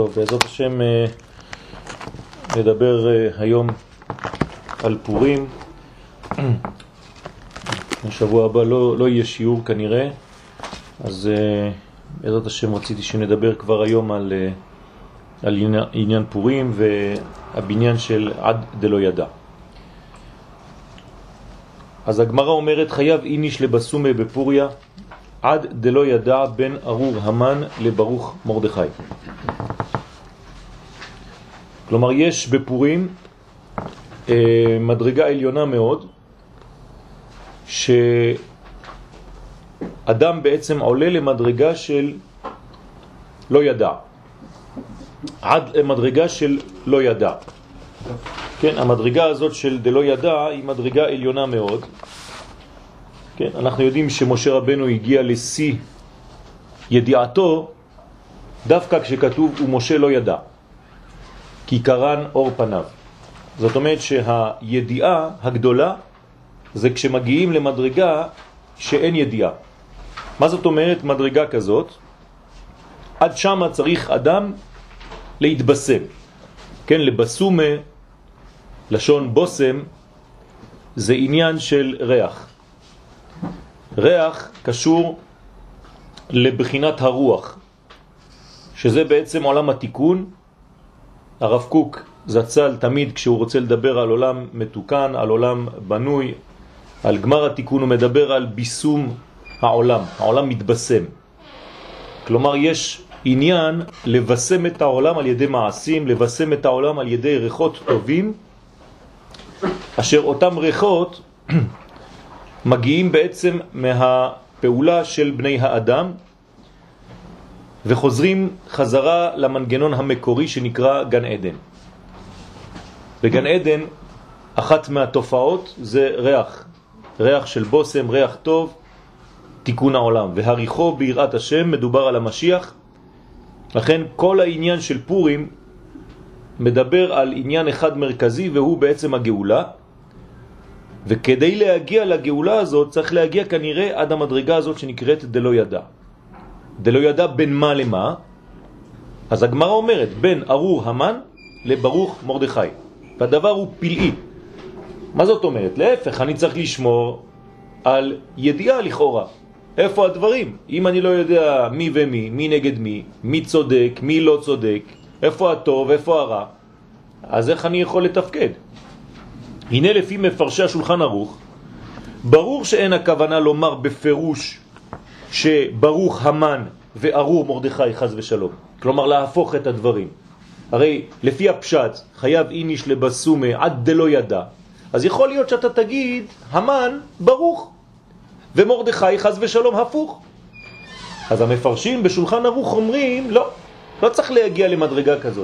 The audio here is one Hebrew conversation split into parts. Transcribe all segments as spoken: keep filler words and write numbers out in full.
טוב, בעזרת השם נדבר היום על פורים. השבוע הבא לא, לא יהיה שיעור כנראה, אז בעזרת השם רציתי שנדבר כבר היום על, על עניין, עניין פורים והבניין של עד דלא ידע. אז הגמרא אומרת חייב איניש לבסומה בפוריה עד דלא ידע בין ארור המן לברוך מרדכי. כלומר יש בפורים אה, מדרגה עליונה מאוד שאדם בעצם עולה למדרגה של לא ידע, עד למדרגה של לא ידע. כן, המדרגה הזאת של דלא ידע היא מדרגה עליונה מאוד. כן, אנחנו יודעים שמשה רבנו הגיע לשיא ידיעתו דווקא כשכתוב ומשה לא ידע כי קרן אור פניו. זאת אומרת שהידיעה הגדולה זה כשמגיעים למדרגה שאין ידיעה. מה זאת אומרת מדרגה כזאת? עד שמה צריך אדם להתבשם. כן, לבסומה, לשון בוסם, זה עניין של ריח. ריח קשור לבחינת הרוח, שזה בעצם עולם התיקון. הרב קוק זצ"ל תמיד כשהוא רוצה לדבר על עולם מתוקן, על עולם בנוי, על גמר התיקון, הוא מדבר על ביסום העולם. העולם מתבשם. כלומר יש עניין לבשם את העולם על ידי מעשים, לבשם את העולם על ידי ריחות טובים, אשר אותם ריחות מגיעים בעצם מהפעולה של בני האדם וחוזרים חזרה למנגנון המקורי שנקרא גן עדן. בגן עדן אחת מהתופעות זה ריח, ריח של בוסם, ריח טוב, תיקון העולם, והריחו ביראת השם, מדובר על המשיח. לכן כל העניין של פורים מדבר על עניין אחד מרכזי והוא בעצם הגאולה, וכדי להגיע לגאולה הזאת צריך להגיע כנראה עד המדרגה הזאת שנקראת דלא ידע. דלא ידע בין מה למה? אז הגמרא אומרת בין ארור המן לברוך מרדכי, והדבר הוא פלאי. מה זאת אומרת? להפך, אני צריך לשמור על ידיעה לכאורה. איפה הדברים? אם אני לא יודע מי ומי, מי נגד מי, מי צודק, מי לא צודק, איפה הטוב, איפה הרע, אז איך אני יכול לתפקד? הנה לפי מפרשי השולחן ערוך, ברור שאין הכוונה לומר בפירוש שברוך המן וארור מרדכי חס ושלום. כלומר להפוך את הדברים. הרי לפי הפשט חייב איניש לבסומה עד דלא ידע. אז יכול להיות שאתה תגיד המן ברוך ומרדכי חס ושלום הפוך. אז המפרשים בשולחן ערוך אומרים לא, לא צריך להגיע למדרגה כזאת.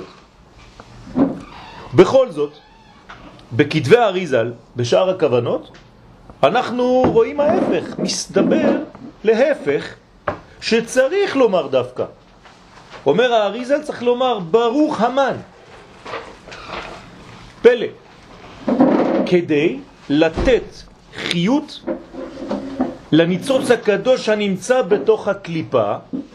בכל זאת בכתבי האריזל, בשאר הכוונות, אנחנו רואים ההפך, מסתבר להפך שצריך לומר דווקא. אומר האריזל צריך לומר ברוך המן. פלא. כדי לתת חיות לניצוץ הקדוש הנמצא בתוך הקליפה,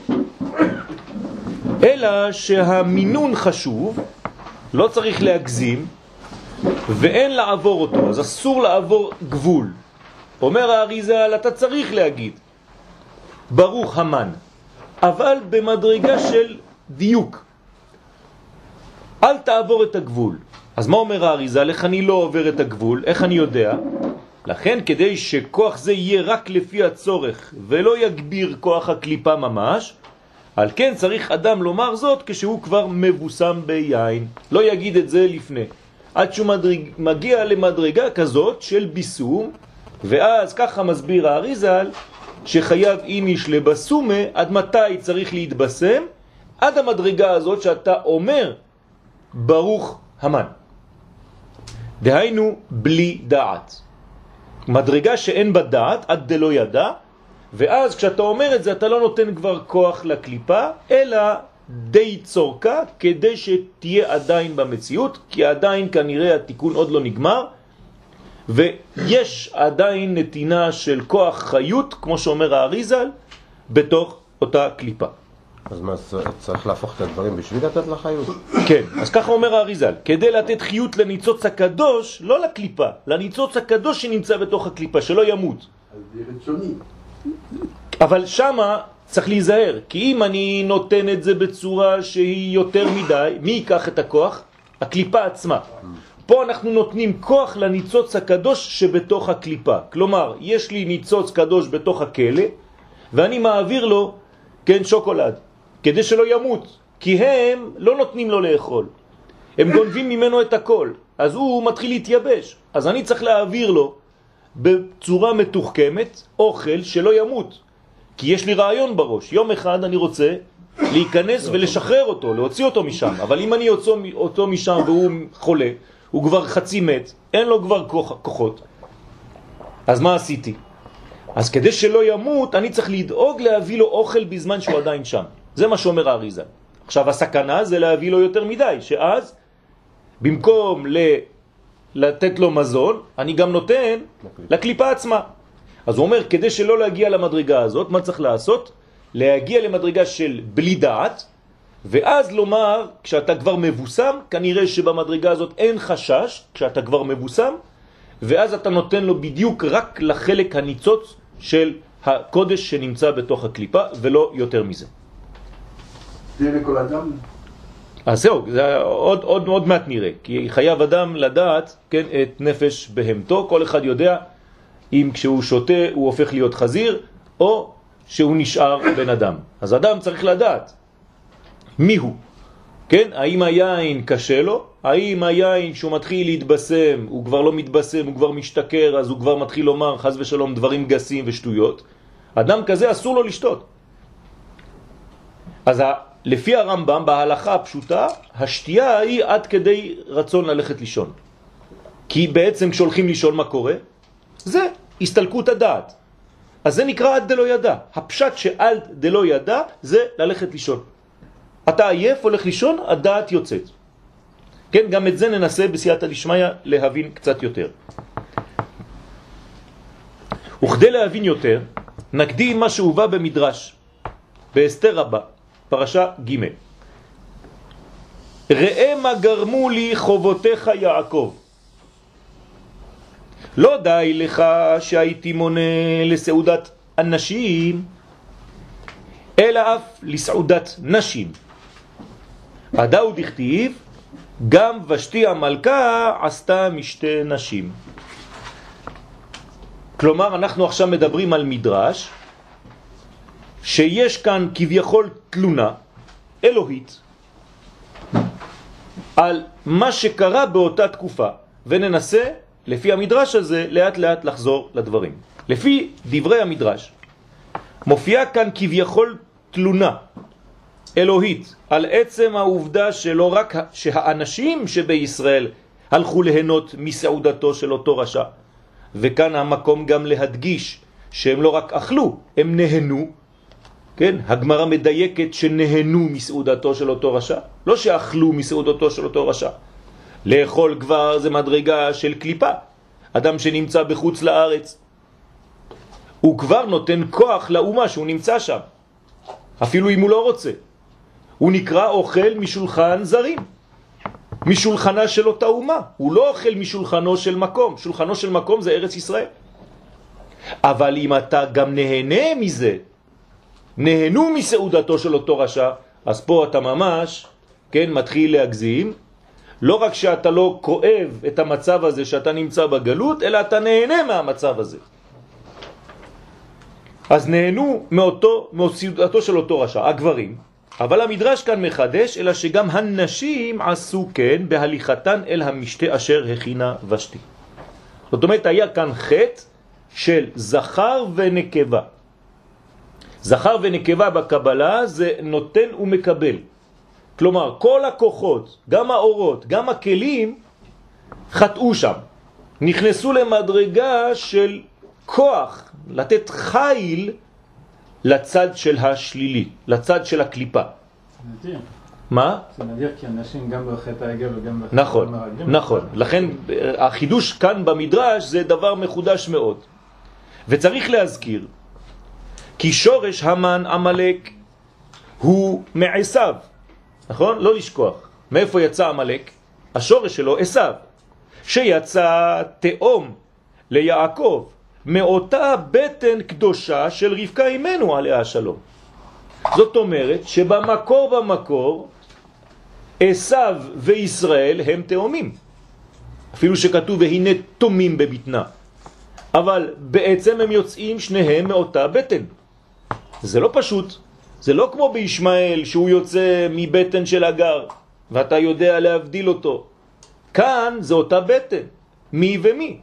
אלא שהמינון חשוב, לא צריך להגזים, ואין לעבור אותו, אז אסור לעבור גבול. אומר האריזל, אתה צריך להגיד ברוך המן, אבל במדרגה של דיוק. אל תעבור את הגבול. אז מה אומר האריזל? איך אני לא עובר את הגבול? איך אני יודע? לכן כדי שכוח זה יהיה רק לפי הצורך ולא יגביר כוח הקליפה ממש, על כן צריך אדם לומר זאת כשהוא כבר מבוסם ביין. לא יגיד את זה לפני. עד שהוא מדרג, מגיע למדרגה כזאת של ביסום, ואז ככה מסביר האריזל שחייב איניש לבסומה. עד מתי צריך להתבסם? עד המדרגה הזאת שאתה אומר ברוך המן. דהיינו בלי דעת. מדרגה שאין בה דעת עד דלא ידע, ואז כשאתה אומר את זה אתה לא נותן כבר כוח לקליפה, אלא די צורכה כדי שתהיה עדיין במציאות, כי עדיין כנראה התיקון עוד לא נגמר, ויש עדיין נתינה של כוח חיות, כמו שאומר האריזל, בתוך אותה קליפה. אז מה, צריך להפוך את הדברים בשביל לתת לחיות? כן, אז ככה אומר האריזל, כדי לתת חיות לניצוץ הקדוש, לא לקליפה, לניצוץ הקדוש שנמצא בתוך הקליפה, שלא ימות. אז זה רצוני. אבל שמה צריך להיזהר, כי אם אני נותן את זה בצורה שהיא יותר מדי, מי ייקח את הכוח? הקליפה עצמה. פה אנחנו נותנים כוח לניצוץ הקדוש שבתוך הקליפה. כלומר, יש לי ניצוץ קדוש בתוך הכלא, ואני מעביר לו, כן, שוקולד, כדי שלא ימות, כי הם לא נותנים לו לאכול. הם גונבים ממנו את הכל, אז הוא מתחיל להתייבש. אז אני צריך להעביר לו בצורה מתוחכמת אוכל שלא ימות. כי יש לי רעיון בראש. יום אחד אני רוצה להיכנס ולשחרר אותו, להוציא אותו משם. אבל אם אני יוצא אותו משם והוא חולה, הוא כבר חצי מת, אין לו כבר כוח, כוחות. אז מה עשיתי? אז כדי שלא ימות, אני צריך לדאוג להביא לו אוכל בזמן שהוא עדיין שם. זה מה שאומר האריזל. עכשיו הסכנה זה להביא לו יותר מדי, שאז במקום ל... לתת לו מזון, אני גם נותן לקליפה עצמה. אז הוא אומר, כדי שלא להגיע למדרגה הזאת, מה צריך לעשות? להגיע למדרגה של בלי דעת, ואז לומר, כשאתה כבר מבוסם, כנראה שבמדרגה הזאת אין חשש, כשאתה כבר מבוסם, ואז אתה נותן לו בדיוק רק לחלק הניצוץ של הקודש שנמצא בתוך הקליפה, ולא יותר מזה. זה לכל אדם? אז זהו, זה עוד, עוד, עוד מעט נראה, כי חייב אדם לדעת, כן, את נפש בהמתו. כל אחד יודע אם כשהוא שותה הוא הופך להיות חזיר, או שהוא נשאר בן אדם. אז אדם צריך לדעת מי הוא, כן? האם היין קשה לו? האם היין שהוא מתחיל להתבשם, הוא כבר לא מתבשם, הוא כבר משתכר, אז הוא כבר מתחיל לומר חס ושלום דברים גסים ושטויות. אדם כזה אסור לו לשתות. אז לפי הרמב"ם, בהלכה הפשוטה, השתייה היא עד כדי רצון ללכת לישון. כי בעצם כשהולכים לישון מה קורה? זה הסתלקות הדעת. אז זה נקרא עד דלא ידע. הפשט שעד דלא ידע זה ללכת לישון. אתה עייף, הולך לישון, הדעת יוצאת. כן, גם את זה ננסה בסייעתא דשמיא להבין קצת יותר. וכדי להבין יותר, נקדים מה שהובא במדרש, באסתר רבה, פרשה ג' ראה מה גרמו לי חובותיך יעקב. לא די לך שהייתי מונה לסעודת אנשים, אלא אף לסעודת נשים. הדאו דכתיב, גם ושתי המלכה עשתה משתי נשים. כלומר, אנחנו עכשיו מדברים על מדרש, שיש כאן כביכול תלונה אלוהית, על מה שקרה באותה תקופה, וננסה, לפי המדרש הזה, לאט לאט לחזור לדברים. לפי דברי המדרש, מופיעה כאן כביכול תלונה אלוהית, על עצם העובדה שלא רק שהאנשים שבישראל הלכו ליהנות מסעודתו של אותו רשע, וכאן המקום גם להדגיש שהם לא רק אכלו, הם נהנו, כן? הגמרא מדייקת שנהנו מסעודתו של אותו רשע, לא שאכלו מסעודתו של אותו רשע. לאכול כבר זה מדרגה של קליפה. אדם שנמצא בחוץ לארץ, הוא כבר נותן כוח לאומה שהוא נמצא שם, אפילו אם הוא לא רוצה. הוא נקרא אוכל משולחן זרים, משולחנה של אותה אומה. הוא לא אוכל משולחנו של מקום. שולחנו של מקום זה ארץ ישראל. אבל אם אתה גם נהנה מזה, נהנו מסעודתו של אותו רשע, אז פה אתה ממש, כן, מתחיל להגזים. לא רק שאתה לא כואב את המצב הזה שאתה נמצא בגלות, אלא אתה נהנה מהמצב הזה. אז נהנו מאותו, מסעודתו של אותו רשע, הגברים. אבל המדרש כאן מחדש, אלא שגם הנשים עשו כן בהליכתן אל המשתה אשר הכינה ושתי. זאת אומרת, היה כאן חטא של זכר ונקבה. זכר ונקבה בקבלה זה נותן ומקבל. כלומר, כל הכוחות, גם האורות, גם הכלים, חטאו שם. נכנסו למדרגה של כוח, לתת חיל לצד של השלילי, לצד של הקליפה. זה נדיר. מה? זה נדיר כי אנשים גם בחטא העגל וגם בחטא נכון, המרגלים. נכון. לכן החידוש כאן במדרש זה דבר מחודש מאוד. וצריך להזכיר כי שורש המן עמלק הוא מעשיו, נכון? לא לשכוח. מאיפה יצא עמלק? השורש שלו עשיו, שיצא תאום ליעקב מאותה בטן קדושה של רבקה אימנו עליה השלום. זאת אומרת שבמקור במקור עשיו וישראל הם תאומים, אפילו שכתוב והנה תומים בבטנה, אבל בעצם הם יוצאים שניהם מאותה בטן. זה לא פשוט, זה לא כמו בישמעאל שהוא יוצא מבטן של אגר ואתה יודע להבדיל אותו. כאן זה אותה בטן, מי ומי.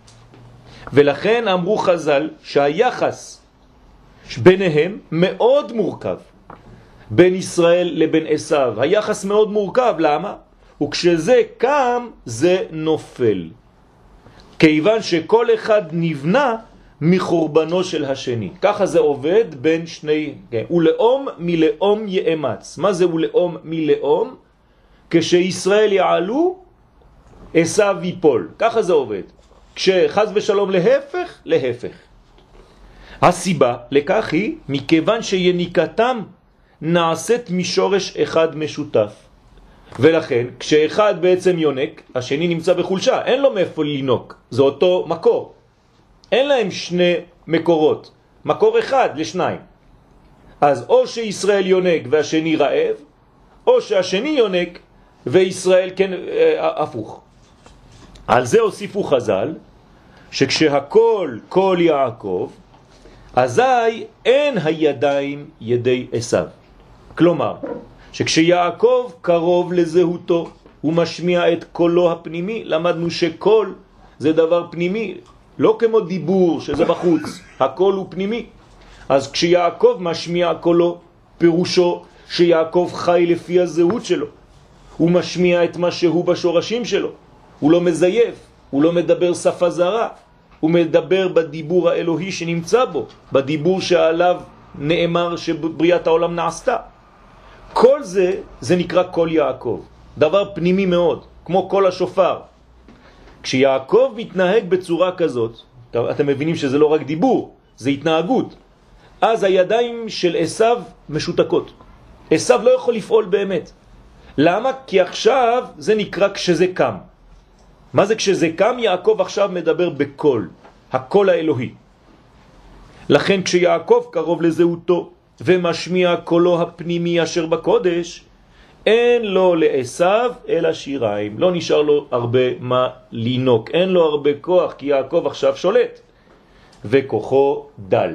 ולכן אמרו חז"ל שהיחס ביניהם מאוד מורכב, בין ישראל לבין עשיו. היחס מאוד מורכב, למה? וכשזה קם זה נופל, כיוון שכל אחד נבנה מחורבנו של השני. ככה זה עובד בין שני, כן. ולאום מלאום יאמץ. מה זה ולאום מלאום? כשישראל יעלו עשיו ייפול. ככה זה עובד. כשחז ושלום להפך, להפך. הסיבה לכך היא מכיוון שיניקתם נעשית משורש אחד משותף. ולכן כשאחד בעצם יונק, השני נמצא בחולשה, אין לו מאיפה לינוק, זה אותו מקור. אין להם שני מקורות, מקור אחד לשניים. אז או שישראל יונק והשני רעב, או שהשני יונק וישראל כן הפוך. על זה הוסיפו חז"ל שכשהכל כל יעקב, אזי אין הידיים ידי עשיו. כלומר, שכשיעקב קרוב לזהותו, הוא משמיע את קולו הפנימי. למדנו שקול זה דבר פנימי, לא כמו דיבור שזה בחוץ, הקול הוא פנימי. אז כשיעקב משמיע קולו, פירושו שיעקב חי לפי הזהות שלו. הוא משמיע את מה שהוא בשורשים שלו. הוא לא מזייף, הוא לא מדבר שפה זרה, הוא מדבר בדיבור האלוהי שנמצא בו, בדיבור שעליו נאמר שבריאת העולם נעשתה. כל זה, זה נקרא קול יעקב, דבר פנימי מאוד, כמו קול השופר. כשיעקב מתנהג בצורה כזאת, אתם מבינים שזה לא רק דיבור, זה התנהגות. אז הידיים של עשיו משותקות. עשיו לא יכול לפעול באמת. למה? כי עכשיו זה נקרא כשזה קם. מה זה כשזה קם? יעקב עכשיו מדבר בקול, הקול האלוהי. לכן כשיעקב קרוב לזהותו ומשמיע קולו הפנימי אשר בקודש, אין לו לעשיו אלא שיריים. לא נשאר לו הרבה מה לינוק, אין לו הרבה כוח, כי יעקב עכשיו שולט וכוחו דל.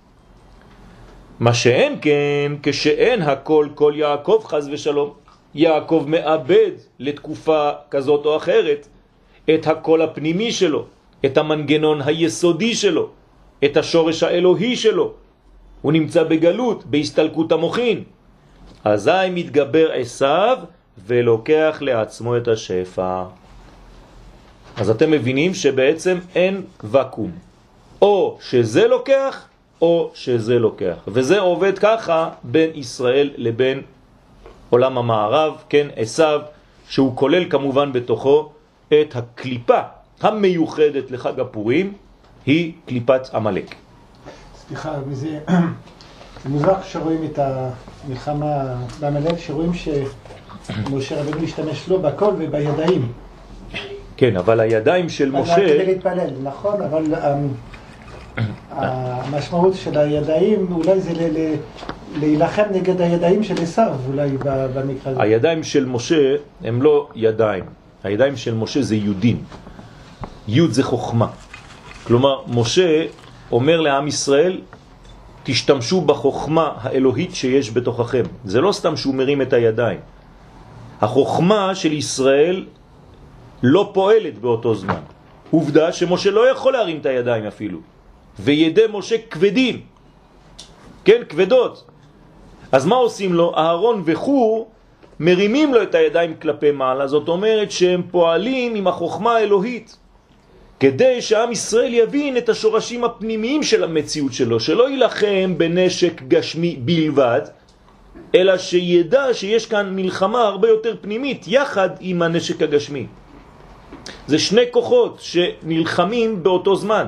מה שאין כן, כשאין הכל כל יעקב חז ושלום, יעקב מאבד לתקופה כזאת או אחרת את הקול הפנימי שלו, את המנגנון היסודי שלו, את השורש האלוהי שלו. הוא נמצא בגלות, בהסתלקות המוחין. אזי מתגבר עשיו ולוקח לעצמו את השפע. אז אתם מבינים שבעצם אין וקום. או שזה לוקח, או שזה לוקח. וזה עובד ככה בין ישראל לבין עולם המערב, כן, עשיו, שהוא כולל כמובן בתוכו את הקליפה המיוחדת לחג הפורים, היא קליפת עמלק. סליחה, וזה זה מוזר שרואים את המלחמה בעמלק, שרואים שמשה רבנו משתמש לו בקול ובידיים. כן, אבל הידיים של משה... כדי להתפלל, נכון, אבל המשמעות של הידיים אולי זה להילחם נגד הידיים של עשיו, אולי במקרה הזה. הידיים של משה הם לא ידיים, הידיים של משה זה יודין. יוד זה חוכמה. כלומר, משה אומר לעם ישראל, תשתמשו בחוכמה האלוהית שיש בתוככם. זה לא סתם שהוא מרים את הידיים. החוכמה של ישראל לא פועלת באותו זמן. עובדה שמשה לא יכול להרים את הידיים אפילו. וידי משה כבדים. כן, כבדות. אז מה עושים לו? אהרון וחור מרימים לו את הידיים כלפי מעלה. זאת אומרת שהם פועלים עם החוכמה האלוהית. כדי שעם ישראל יבין את השורשים הפנימיים של המציאות שלו, שלא ילחם בנשק גשמי בלבד, אלא שידע שיש כאן מלחמה הרבה יותר פנימית יחד עם הנשק הגשמי. זה שני כוחות שנלחמים באותו זמן.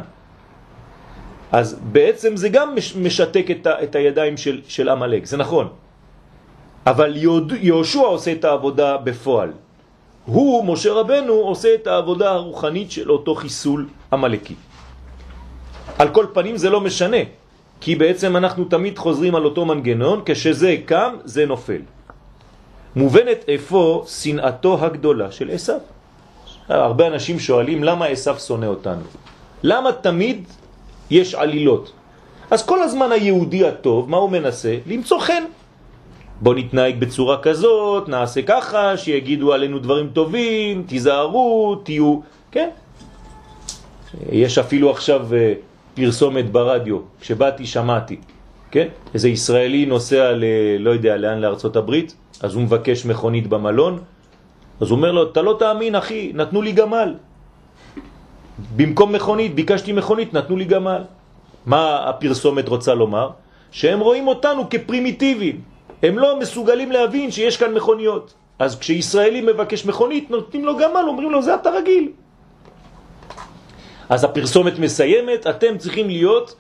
אז בעצם זה גם משתק את, ה, את הידיים של, של עמלק, זה נכון. אבל יהושע עושה את העבודה בפועל. הוא, משה רבנו, עושה את העבודה הרוחנית של אותו חיסול עמלקי. על כל פנים זה לא משנה, כי בעצם אנחנו תמיד חוזרים על אותו מנגנון, כשזה קם זה נופל. מובנת איפה שנאתו הגדולה של עשיו. הרבה אנשים שואלים למה עשיו שונא אותנו. למה תמיד יש עלילות? אז כל הזמן היהודי הטוב, מה הוא מנסה? למצוא חן. בוא נתנהג בצורה כזאת, נעשה ככה, שיגידו עלינו דברים טובים, תיזהרו, תהיו, כן? יש אפילו עכשיו פרסומת ברדיו, כשבאתי שמעתי, כן? איזה ישראלי נוסע ל... לא יודע לאן, לארצות הברית, אז הוא מבקש מכונית במלון, אז הוא אומר לו, אתה לא תאמין אחי, נתנו לי גמל. במקום מכונית, ביקשתי מכונית, נתנו לי גמל. מה הפרסומת רוצה לומר? שהם רואים אותנו כפרימיטיביים. הם לא מסוגלים להבין שיש כאן מכוניות. אז כשישראלי מבקש מכונית, נותנים לו גמל, אומרים לו, זה אתה רגיל. אז הפרסומת מסיימת, אתם צריכים להיות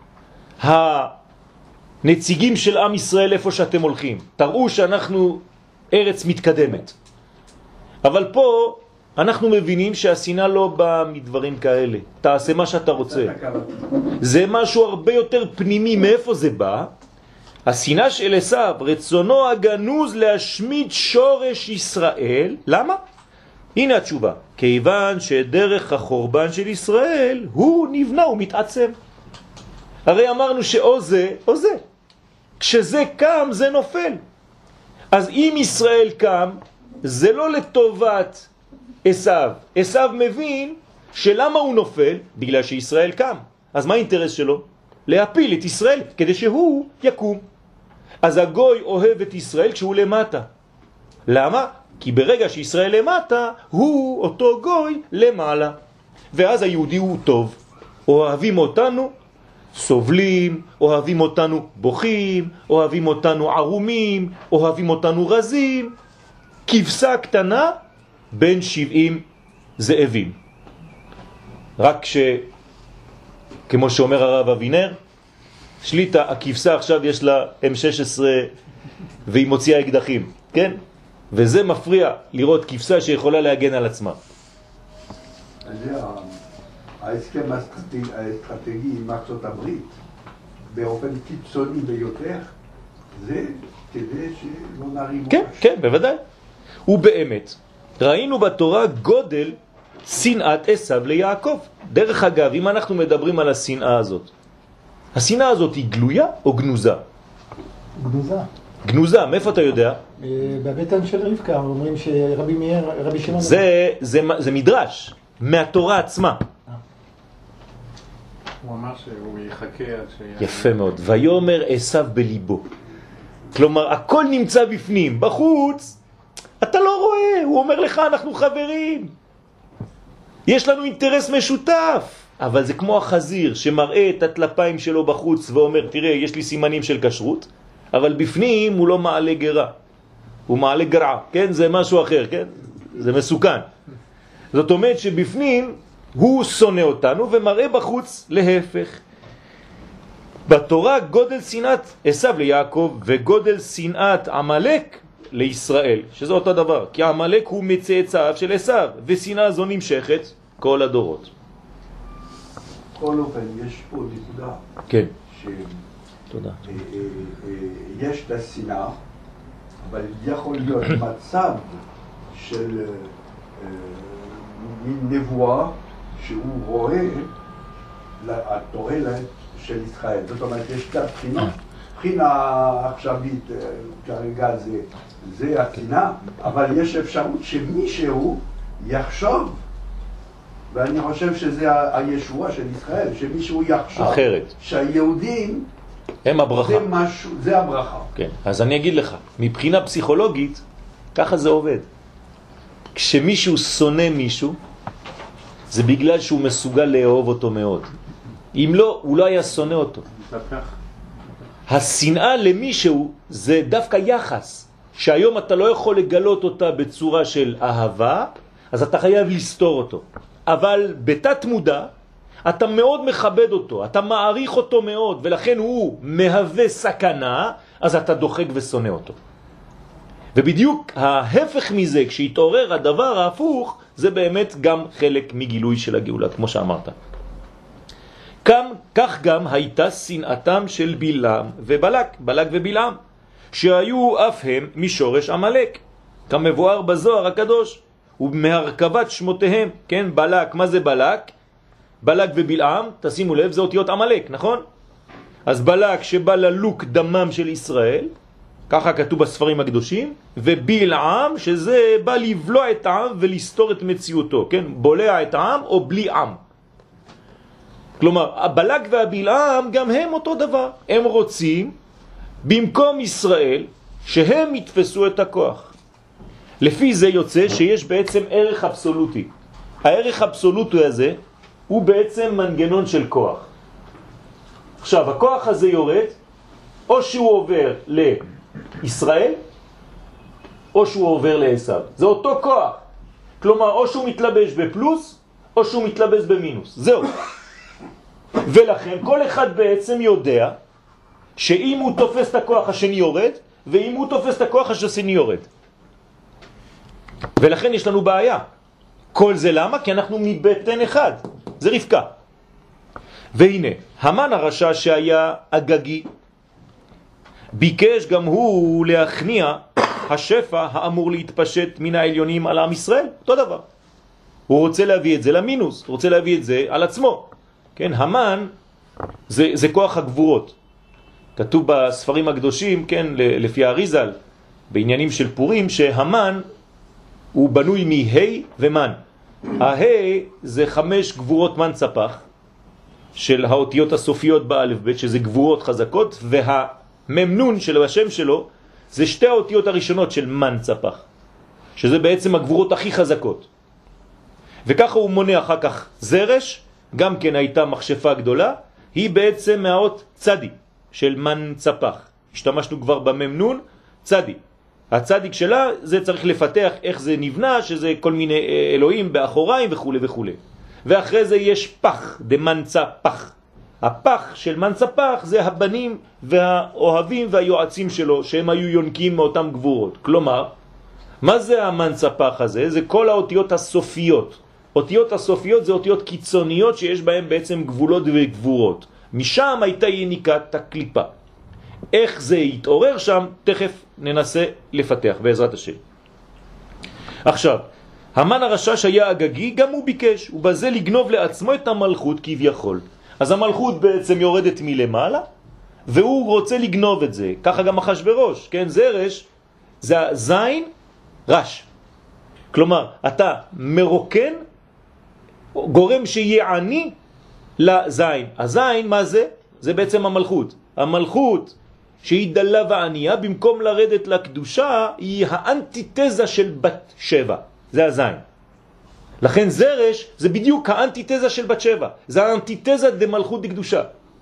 הנציגים של עם ישראל איפה שאתם הולכים. תראו שאנחנו ארץ מתקדמת. אבל פה אנחנו מבינים שהשנאה לא באה מדברים כאלה. תעשה מה שאתה רוצה. זה משהו הרבה יותר פנימי. מאיפה זה בא? השנאה של עשיו, רצונו הגנוז להשמיד שורש ישראל. למה? הנה התשובה. כיוון שדרך החורבן של ישראל הוא נבנה ומתעצם. הרי אמרנו שאו זה או זה. כשזה קם זה נופל. אז אם ישראל קם, זה לא לטובת עשיו. עשיו מבין שלמה הוא נופל? בגלל שישראל קם. אז מה האינטרס שלו? להפיל את ישראל כדי שהוא יקום. אז הגוי אוהב את ישראל כשהוא למטה. למה? כי ברגע שישראל למטה, הוא אותו גוי למעלה. ואז היהודי הוא טוב. אוהבים אותנו, סובלים, אוהבים אותנו בוכים, אוהבים אותנו ערומים, אוהבים אותנו רזים. כבשה קטנה בין שבעים זאבים. רק ש... כמו שאומר הרב אבינר, שליטה, הכבשה עכשיו יש לה אם שש עשרה והיא מוציאה אקדחים, כן? וזה מפריע לראות כבשה שיכולה להגן על עצמה. ההסכם האסטרטגי עם ארצות הברית, באופן קיצוני ביותר, זה כדי שלא נריב. כן, כן, בוודאי. ובאמת, ראינו בתורה גודל שנאת עשיו ליעקב. דרך אגב, אם אנחנו מדברים על השנאה הזאת, השנאה הזאת היא גלויה או גנוזה? גנוזה. גנוזה, מאיפה אתה יודע? בבטן של רבקה, אומרים שרבי מאיר, רבי שמעון... זה, זה, זה מדרש, מהתורה עצמה. הוא אמר שהוא יחכה עד ש... יפה מאוד. ויאמר עשיו בליבו. כלומר, הכל נמצא בפנים, בחוץ. אתה לא רואה, הוא אומר לך, אנחנו חברים. יש לנו אינטרס משותף. אבל זה כמו החזיר שמראה את הטלפיים שלו בחוץ ואומר, תראה, יש לי סימנים של כשרות, אבל בפנים הוא לא מעלה גרה. הוא מעלה גרעה, כן? זה משהו אחר, כן? זה מסוכן. זאת אומרת שבפנים הוא שונא אותנו ומראה בחוץ להפך. בתורה גודל שנאת עשיו ליעקב וגודל שנאת עמלק לישראל, שזה אותו דבר, כי עמלק הוא מצאצאיו של עשיו, ושנאה זו נמשכת כל הדורות. כל אופן, יש פה נקודה. כן. ש... תודה. יש את השנאה, אבל יכול להיות מצב של נבואה שהוא רואה התועלת של ישראל. זאת אומרת, יש את הבחינה. בחינה עכשווית, כרגע זה, זה השנאה, אבל יש אפשרות שמישהו יחשוב, ואני חושב שזה הישוע של ישראל, שמישהו יחשוב אחרת. שהיהודים הם הברכה. זה משהו, זה הברכה. כן, אז אני אגיד לך, מבחינה פסיכולוגית, ככה זה עובד. כשמישהו שונא מישהו, זה בגלל שהוא מסוגל לאהוב אותו מאוד. אם לא, הוא לא היה שונא אותו. השנאה למישהו זה דווקא יחס, שהיום אתה לא יכול לגלות אותה בצורה של אהבה, אז אתה חייב לסתור אותו. אבל בתת מודע, אתה מאוד מכבד אותו, אתה מעריך אותו מאוד, ולכן הוא מהווה סכנה, אז אתה דוחק ושונא אותו. ובדיוק ההפך מזה, כשהתעורר הדבר ההפוך, זה באמת גם חלק מגילוי של הגאולה, כמו שאמרת. כאן, כך גם הייתה שנאתם של בלעם ובלק, בלק ובלעם, שהיו אף הם משורש עמלק, כמבואר בזוהר הקדוש, ומהרכבת שמותיהם, כן, בלק, מה זה בלק? בלק ובלעם, תשימו לב, זה אותיות עמלק, נכון? אז בלק שבא ללוק דמם של ישראל, ככה כתוב בספרים הקדושים, ובלעם שזה בא לבלוע את העם ולסתור את מציאותו, כן? בולע את העם או בלי עם. כלומר, הבלק והבלעם גם הם אותו דבר. הם רוצים במקום ישראל שהם יתפסו את הכוח. לפי זה יוצא שיש בעצם ערך אבסולוטי. הערך האבסולוטי הזה הוא בעצם מנגנון של כוח. עכשיו, הכוח הזה יורד, או שהוא עובר לישראל, או שהוא עובר לעשיו. זה אותו כוח. כלומר, או שהוא מתלבש בפלוס, או שהוא מתלבש במינוס. זהו. ולכן כל אחד בעצם יודע שאם הוא תופס את הכוח השני יורד, ואם הוא תופס את הכוח השני יורד. ולכן יש לנו בעיה. כל זה למה? כי אנחנו מבטן אחד. זה רבקה. והנה, המן הרשע שהיה אגגי, ביקש גם הוא להכניע השפע האמור להתפשט מן העליונים על עם ישראל. אותו דבר. הוא רוצה להביא את זה למינוס, הוא רוצה להביא את זה על עצמו. כן, המן זה, זה כוח הגבורות. כתוב בספרים הקדושים, כן, לפי האריזל, בעניינים של פורים, שהמן הוא בנוי מהי ומן. ההי זה חמש גבורות מן צפח, של האותיות הסופיות באלף בית, שזה גבורות חזקות, והממנון של השם שלו, זה שתי האותיות הראשונות של מן צפח, שזה בעצם הגבורות הכי חזקות. וככה הוא מונה אחר כך זרש, גם כן הייתה מחשפה גדולה, היא בעצם מהאות צדי של מן צפח. השתמשנו כבר בממנון, צדי. הצדיק שלה זה צריך לפתח איך זה נבנה, שזה כל מיני אלוהים באחוריים וכו' וכו'. ואחרי זה יש פח, דמן צפח. הפח של מן צפח זה הבנים והאוהבים והיועצים שלו, שהם היו יונקים מאותם גבורות. כלומר, מה זה המן צפח הזה? זה כל האותיות הסופיות. אותיות הסופיות זה אותיות קיצוניות שיש בהן בעצם גבולות וגבורות. משם הייתה יניקת הקליפה. איך זה יתעורר שם, תכף ננסה לפתח בעזרת השם. עכשיו, המן הרשע שהיה אגגי, גם הוא ביקש, ובזה לגנוב לעצמו את המלכות כביכול. אז המלכות בעצם יורדת מלמעלה, והוא רוצה לגנוב את זה. ככה גם אחשוורוש, כן? זרש, זה הזין רש. כלומר, אתה מרוקן, גורם שיהיה עני לזין. הזין, מה זה? זה בעצם המלכות. המלכות שהיא דלה וענייה, במקום לרדת לקדושה, היא האנטיתזה של בת שבע. זה הזין. לכן זרש זה בדיוק האנטיתזה של בת שבע. זה האנטיתזה דמלכות דקדושה.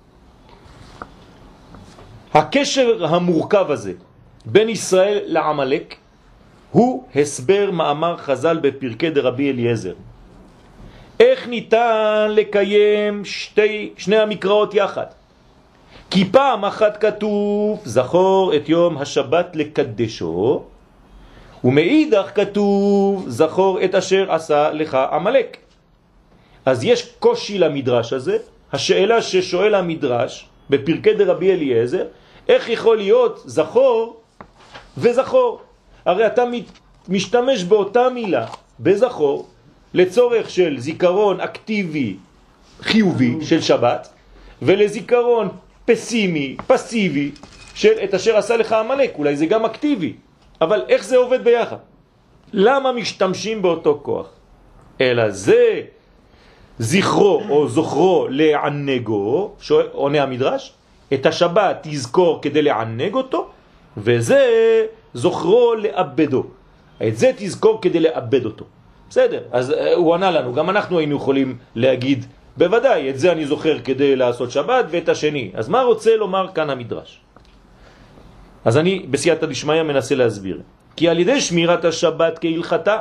הקשר המורכב הזה בין ישראל לעמלק הוא הסבר מאמר חז"ל בפרקי דרבי אליעזר. איך ניתן לקיים שתי, שני המקראות יחד? כי פעם אחת כתוב זכור את יום השבת לקדשו, ומאידך כתוב זכור את אשר עשה לך עמלק. אז יש קושי למדרש הזה. השאלה ששואל המדרש בפרקי דרבי אליעזר, איך יכול להיות זכור וזכור? הרי אתה משתמש באותה מילה בזכור לצורך של זיכרון אקטיבי חיובי של שבת, ולזיכרון פסימי, פסיבי של את אשר עשה לך עמלק. אולי זה גם אקטיבי, אבל איך זה עובד ביחד? למה משתמשים באותו כוח? אלא זה זכרו או זוכרו לענגו, עונה המדרש, את השבת תזכור כדי לענג אותו, וזה זוכרו לאבדו. את זה תזכור כדי לאבד אותו. בסדר, אז הוא ענה לנו, גם אנחנו היינו יכולים להגיד, בוודאי, את זה אני זוכר כדי לעשות שבת, ואת השני. אז מה רוצה לומר כאן המדרש? אז אני בסייעתא דשמיא מנסה להסביר. כי על ידי שמירת השבת כהלכתה,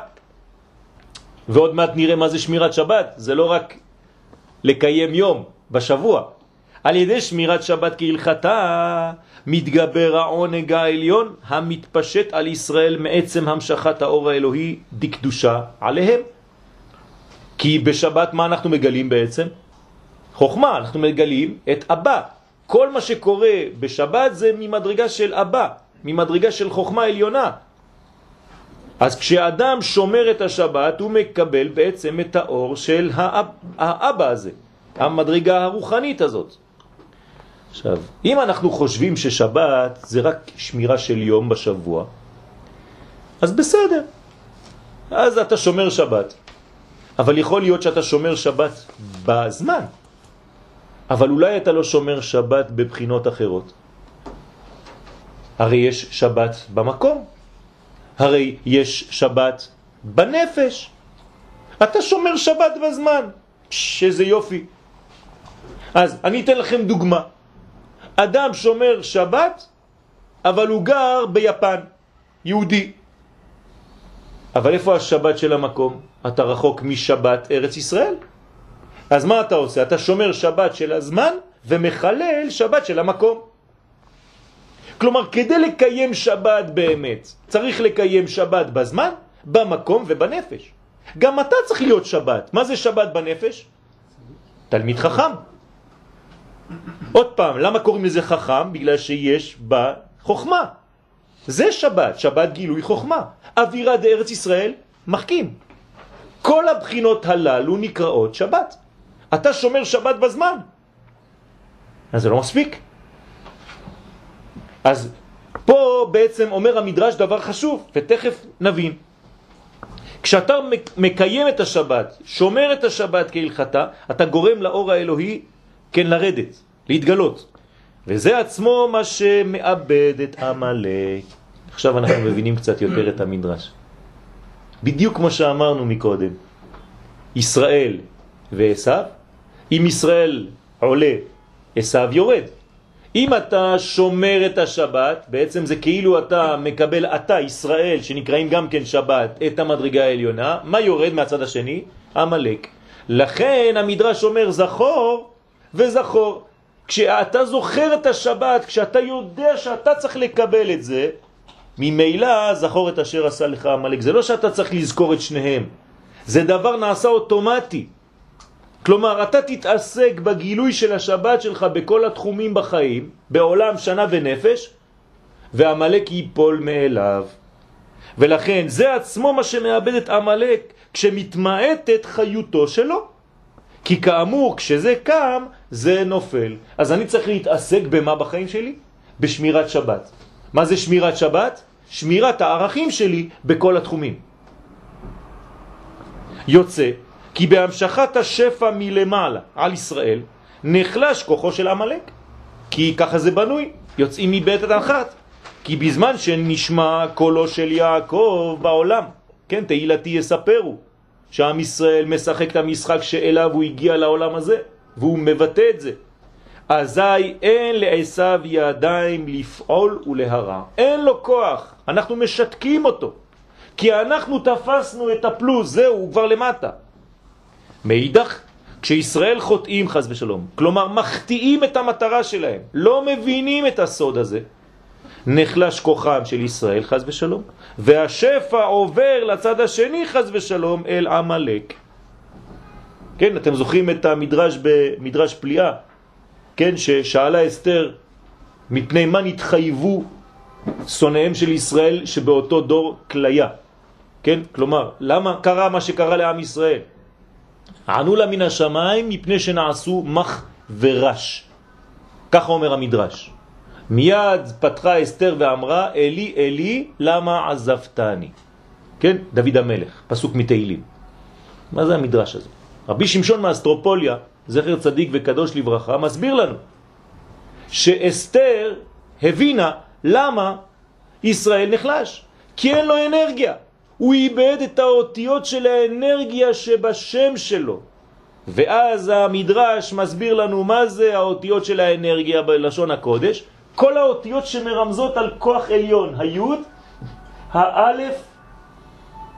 ועוד מעט נראה מה זה שמירת שבת, זה לא רק לקיים יום בשבוע, על ידי שמירת שבת כהלכתה מתגבר העונג העליון המתפשט על ישראל מעצם המשכת האור האלוהי דקדושה עליהם. כי בשבת מה אנחנו מגלים בעצם? חוכמה, אנחנו מגלים את אבא. כל מה שקורה בשבת זה ממדרגה של אבא, ממדרגה של חוכמה עליונה. אז כשאדם שומר את השבת הוא מקבל בעצם את האור של האב, האבא הזה, המדרגה הרוחנית הזאת. עכשיו, אם אנחנו חושבים ששבת זה רק שמירה של יום בשבוע, אז בסדר, אז אתה שומר שבת. אבל יכול להיות שאתה שומר שבת בזמן, אבל אולי אתה לא שומר שבת בבחינות אחרות. הרי יש שבת במקום, הרי יש שבת בנפש. אתה שומר שבת בזמן, שזה יופי. אז אני אתן לכם דוגמה. אדם שומר שבת, אבל הוא גר ביפן, יהודי. אבל איפה השבת של המקום? אתה רחוק משבת ארץ ישראל. אז מה אתה עושה? אתה שומר שבת של הזמן ומחלל שבת של המקום. כלומר, כדי לקיים שבת באמת, צריך לקיים שבת בזמן, במקום ובנפש. גם אתה צריך להיות שבת. מה זה שבת בנפש? תלמיד חכם. עוד פעם, למה קוראים לזה חכם? בגלל שיש בה חוכמה. זה שבת, שבת גילוי חוכמה. אווירה דארץ ישראל מחכים. כל הבחינות הללו נקראות שבת. אתה שומר שבת בזמן. אז זה לא מספיק. אז פה בעצם אומר המדרש דבר חשוב, ותכף נבין. כשאתה מקיים את השבת, שומר את השבת כהלכתה, אתה גורם לאור האלוהי כן לרדת, להתגלות. וזה עצמו מה שמאבד את עמלק. עכשיו אנחנו מבינים קצת יותר את המדרש. בדיוק כמו שאמרנו מקודם, ישראל ועשיו, אם ישראל עולה, עשיו יורד. אם אתה שומר את השבת, בעצם זה כאילו אתה מקבל, אתה ישראל, שנקראים גם כן שבת, את המדרגה העליונה, מה יורד מהצד השני? עמלק. לכן המדרש אומר זכור וזכור. כשאתה זוכר את השבת, כשאתה יודע שאתה צריך לקבל את זה, ממילא זכור את אשר עשה לך עמלק. זה לא שאתה צריך לזכור את שניהם, זה דבר נעשה אוטומטי. כלומר, אתה תתעסק בגילוי של השבת שלך בכל התחומים בחיים, בעולם שנה ונפש, ועמלק ייפול מאליו. ולכן זה עצמו מה שמאבד את עמלק, כשמתמעטת חיותו שלו. כי כאמור, כשזה קם, זה נופל. אז אני צריך להתעסק במה בחיים שלי? בשמירת שבת. מה זה שמירת שבת? שמירת הערכים שלי בכל התחומים. יוצא כי בהמשכת השפע מלמעלה על ישראל נחלש כוחו של עמלק. כי ככה זה בנוי, יוצאים מבית אחת. כי בזמן שנשמע קולו של יעקב בעולם, כן, תהילתי יספרו, שעם ישראל משחק את המשחק שאליו הוא הגיע לעולם הזה, והוא מבטא את זה. אזי אין לעשיו ידיים לפעול ולהרע. אין לו כוח, אנחנו משתקים אותו. כי אנחנו תפסנו את הפלוס, זהו, הוא כבר למטה. מאידך, כשישראל חוטאים חס ושלום, כלומר מחטיאים את המטרה שלהם, לא מבינים את הסוד הזה, נחלש כוחם של ישראל חס ושלום, והשפע עובר לצד השני חס ושלום אל עמלק. כן, אתם זוכרים את המדרש במדרש פליאה, כן, ששאלה אסתר מפני מה נתחייבו שונאיהם של ישראל שבאותו דור כליה. כן, כלומר, למה קרה מה שקרה לעם ישראל? ענו לה מן השמיים מפני שנעשו מח ורש. ככה אומר המדרש. מיד פתחה אסתר ואמרה, אלי אלי למה עזבתני? כן, דוד המלך, פסוק מתהילים. מה זה המדרש הזה? רבי שמשון מאסטרופוליה, זכר צדיק וקדוש לברכה, מסביר לנו שאסתר הבינה למה ישראל נחלש. כי אין לו אנרגיה. הוא איבד את האותיות של האנרגיה שבשם שלו. ואז המדרש מסביר לנו מה זה האותיות של האנרגיה בלשון הקודש. כל האותיות שמרמזות על כוח עליון, היוד, האלף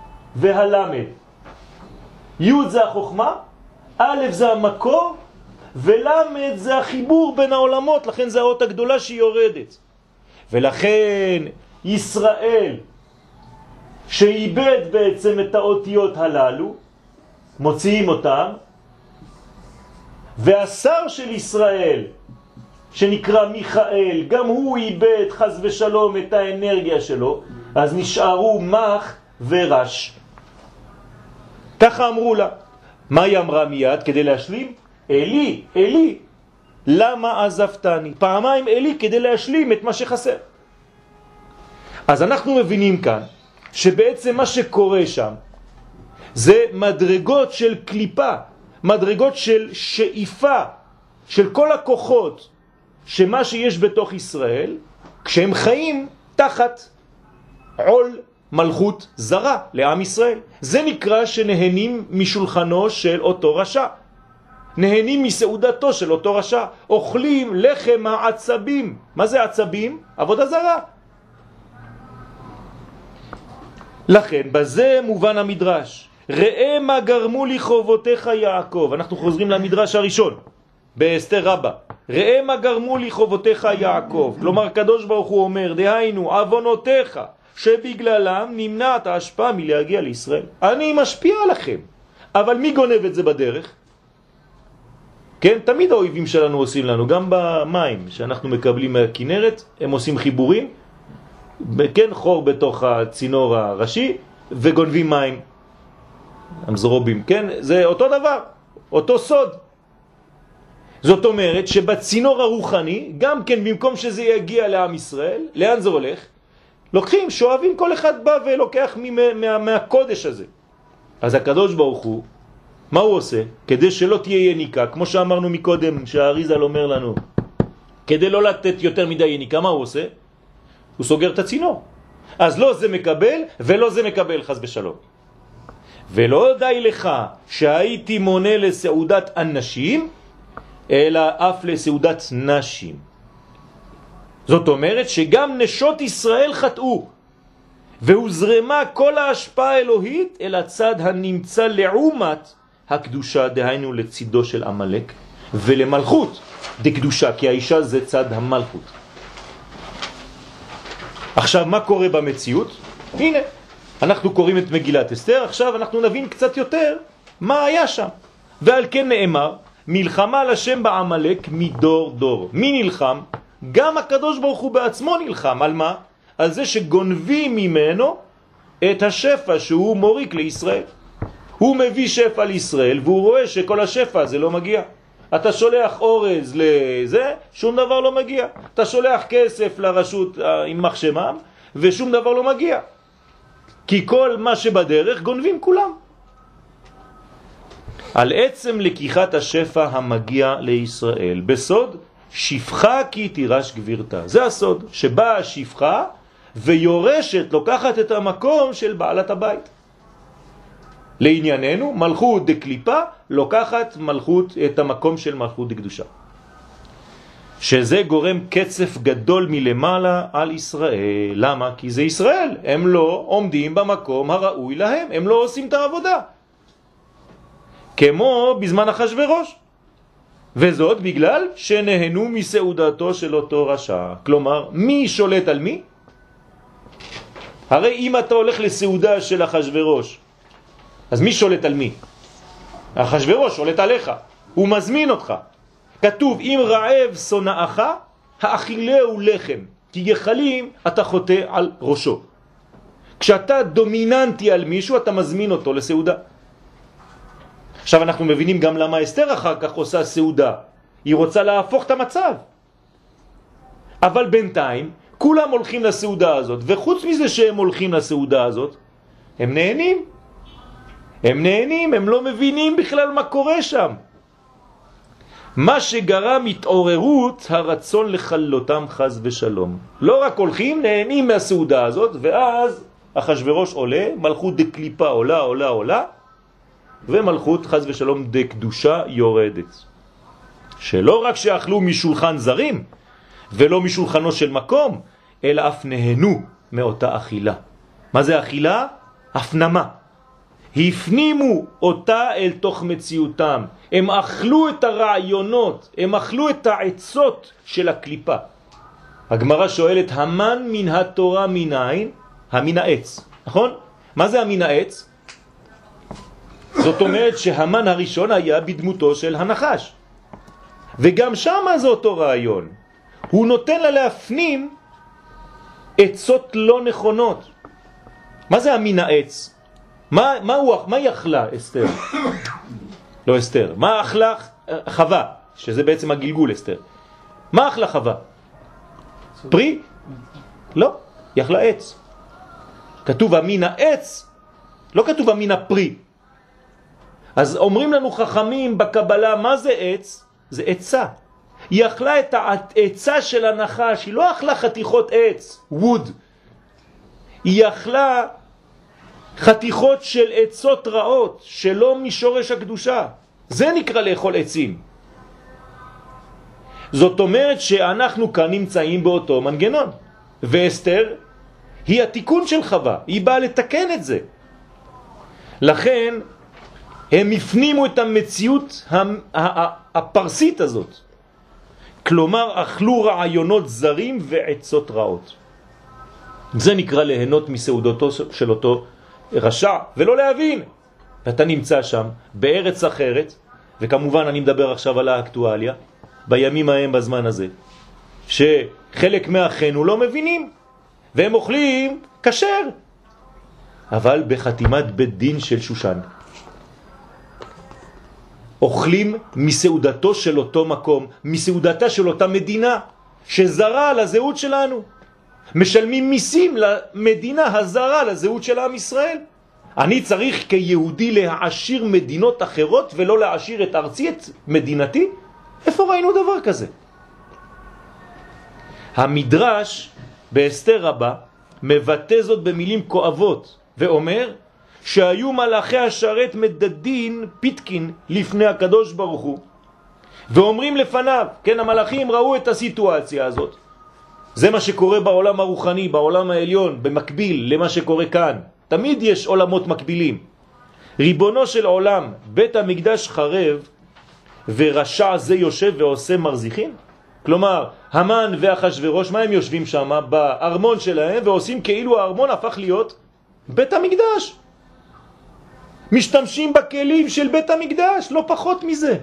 והלמד. יוד זה החוכמה, א' זה המקור, ולמד זה החיבור בין העולמות, לכן זה האות הגדולה שהיא יורדת. ולכן ישראל שאיבד בעצם את האותיות הללו, מוציאים אותם, והשר של ישראל שנקרא מיכאל, גם הוא איבד חס ושלום את האנרגיה שלו, אז נשארו מח ורש. ככה אמרו לה. מה היא אמרה מיד כדי להשלים? אלי, אלי, למה עזבתני? פעמיים אלי כדי להשלים את מה שחסר. אז אנחנו מבינים כאן שבעצם מה שקורה שם זה מדרגות של קליפה, מדרגות של שאיפה של כל הכוחות שמה שיש בתוך ישראל כשהם חיים תחת עול מלכות זרה לעם ישראל. זה נקרא שנהנים משולחנו של אותו רשע, נהנים מסעודתו של אותו רשע, אוכלים לחם העצבים. מה זה עצבים? עבודה זרה. לכן בזה מובן המדרש, ראה מה גרמו לי חובותיך יעקב. אנחנו חוזרים למדרש הראשון באסתר רבה, ראה מה גרמו לי חובותיך יעקב. כלומר קדוש ברוך הוא אומר, דהיינו עוונותיך שבגללם נמנעת ההשפעה מלהגיע לישראל. אני משפיע עליכם, אבל מי גונב את זה בדרך? כן, תמיד האויבים שלנו עושים לנו, גם במים שאנחנו מקבלים מהכינרת, הם עושים חיבורים, כן, חור בתוך הצינור הראשי, וגונבים מים, המזרובים, כן, זה אותו דבר, אותו סוד. זאת אומרת שבצינור הרוחני, גם כן במקום שזה יגיע לעם ישראל, לאן זה הולך? לוקחים, שואבים, כל אחד בא ולוקח מה, מה, מהקודש הזה. אז הקדוש ברוך הוא, מה הוא עושה? כדי שלא תהיה יניקה, כמו שאמרנו מקודם, שהאריזל אומר לנו, כדי לא לתת יותר מדי יניקה, מה הוא עושה? הוא סוגר את הצינור. אז לא זה מקבל ולא זה מקבל, חס בשלום. ולא די לך שהייתי מונה לסעודת אנשים, אלא אף לסעודת נשים. זאת אומרת שגם נשות ישראל חטאו, והוזרמה כל ההשפעה האלוהית אל הצד הנמצא לעומת הקדושה, דהיינו לצידו של המלאק, ולמלכות דקדושה, כי האישה זה צד המלכות. עכשיו מה קורה במציאות? הנה, אנחנו קוראים את מגילת אסתר, עכשיו אנחנו נבין קצת יותר מה היה שם. ועל כן נאמר, מלחמה לשם בעמלק מדור דור. מי נלחם? גם הקדוש ברוך הוא בעצמו נלחם. על מה? על זה שגונבים ממנו את השפע שהוא מוריק לישראל. הוא מביא שפע לישראל והוא רואה שכל השפע הזה לא מגיע. אתה שולח אורז לזה, שום דבר לא מגיע. אתה שולח כסף לרשות עם מחשמם ושום דבר לא מגיע. כי כל מה שבדרך גונבים כולם. על עצם לקיחת השפע המגיע לישראל בסוד, שפחה כי תירש גבירתה. זה הסוד, שבאה השפחה ויורשת, לוקחת את המקום של בעלת הבית. לענייננו, מלכות דקליפה לוקחת מלכות, את המקום של מלכות דקדושה. שזה גורם קצף גדול מלמעלה על ישראל. למה? כי זה ישראל. הם לא עומדים במקום הראוי להם. הם לא עושים את העבודה. כמו בזמן אחשוורוש. וזאת בגלל שנהנו מסעודתו של אותו רשע. כלומר, מי שולט על מי? הרי אם אתה הולך לסעודה של אחשוורוש, אז מי שולט על מי? אחשוורוש שולט עליך. הוא מזמין אותך. כתוב, אם רעב שונאך, האכילהו לחם, כי גחלים אתה חוטא על ראשו. כשאתה דומיננטי על מישהו, אתה מזמין אותו לסעודה. עכשיו אנחנו מבינים גם למה אסתר אחר כך עושה סעודה. היא רוצה להפוך את המצב. אבל בינתיים, כולם הולכים לסעודה הזאת, וחוץ מזה שהם הולכים לסעודה הזאת, הם נהנים. הם נהנים, הם לא מבינים בכלל מה קורה שם. מה שגרם התעוררות הרצון לחלותם חס ושלום. לא רק הולכים, נהנים מהסעודה הזאת, ואז אחשוורוש עולה, מלכות דקליפה עולה, עולה, עולה, ומלכות חס ושלום דקדושה יורדת. שלא רק שאכלו משולחן זרים, ולא משולחנו של מקום, אלא אף נהנו מאותה אכילה. מה זה אכילה? הפנמה. הפנימו אותה אל תוך מציאותם. הם אכלו את הרעיונות, הם אכלו את העצות של הקליפה. הגמרא שואלת, המן מן התורה מנין? המן העץ, נכון? מה זה המן העץ? זאת אומרת שהמן הראשון היה בדמותו של הנחש. וגם שם זה אותו רעיון. הוא נותן לה להפנים עצות לא נכונות. מה זה המן העץ? מה, מה, הוא, מה היא אכלה, אסתר? לא אסתר. מה אכלה חווה? שזה בעצם הגלגול, אסתר. מה אכלה חווה? פרי? לא, היא אכלה עץ. כתוב המין העץ, לא כתוב המין הפרי. אז אומרים לנו חכמים בקבלה, מה זה עץ? זה עצה. היא אכלה את העצה של הנחש, היא לא אכלה חתיכות עץ, ווד. היא אכלה חתיכות של עצות רעות, שלא משורש הקדושה. זה נקרא לאכול עצים. זאת אומרת שאנחנו כאן נמצאים באותו מנגנון. ואסתר היא התיקון של חווה, היא באה לתקן את זה. לכן הם הפנימו את המציאות הפרסית הזאת. כלומר, אכלו רעיונות זרים ועצות רעות. זה נקרא ליהנות מסעודתו של אותו רשע, ולא להבין. ואתה נמצא שם, בארץ אחרת, וכמובן אני מדבר עכשיו על האקטואליה, בימים ההם בזמן הזה, שחלק מאחינו לא מבינים, והם אוכלים כשר, אבל בחתימת בית דין של שושן. אוכלים מסעודתו של אותו מקום, מסעודתה של אותה מדינה, שזרה לזהות שלנו. משלמים מיסים למדינה הזרה לזהות של עם ישראל. אני צריך כיהודי להעשיר מדינות אחרות ולא להעשיר את ארצי, את מדינתי? איפה ראינו דבר כזה? המדרש באסתר רבה מבטא זאת במילים כואבות ואומר שהיו מלאכי השרת מדדין פיתקין לפני הקדוש ברוך הוא ואומרים לפניו, כן, המלאכים ראו את הסיטואציה הזאת. זה מה שקורה בעולם הרוחני, בעולם העליון, במקביל למה שקורה כאן. תמיד יש עולמות מקבילים. ריבונו של עולם, בית המקדש חרב ורשע זה יושב ועושה מרזיחים? כלומר, המן ואחשוורוש, מה הם יושבים שם? בארמון שלהם ועושים כאילו הארמון הפך להיות בית המקדש. משתמשים בכלים של בית המקדש, לא פחות מזה.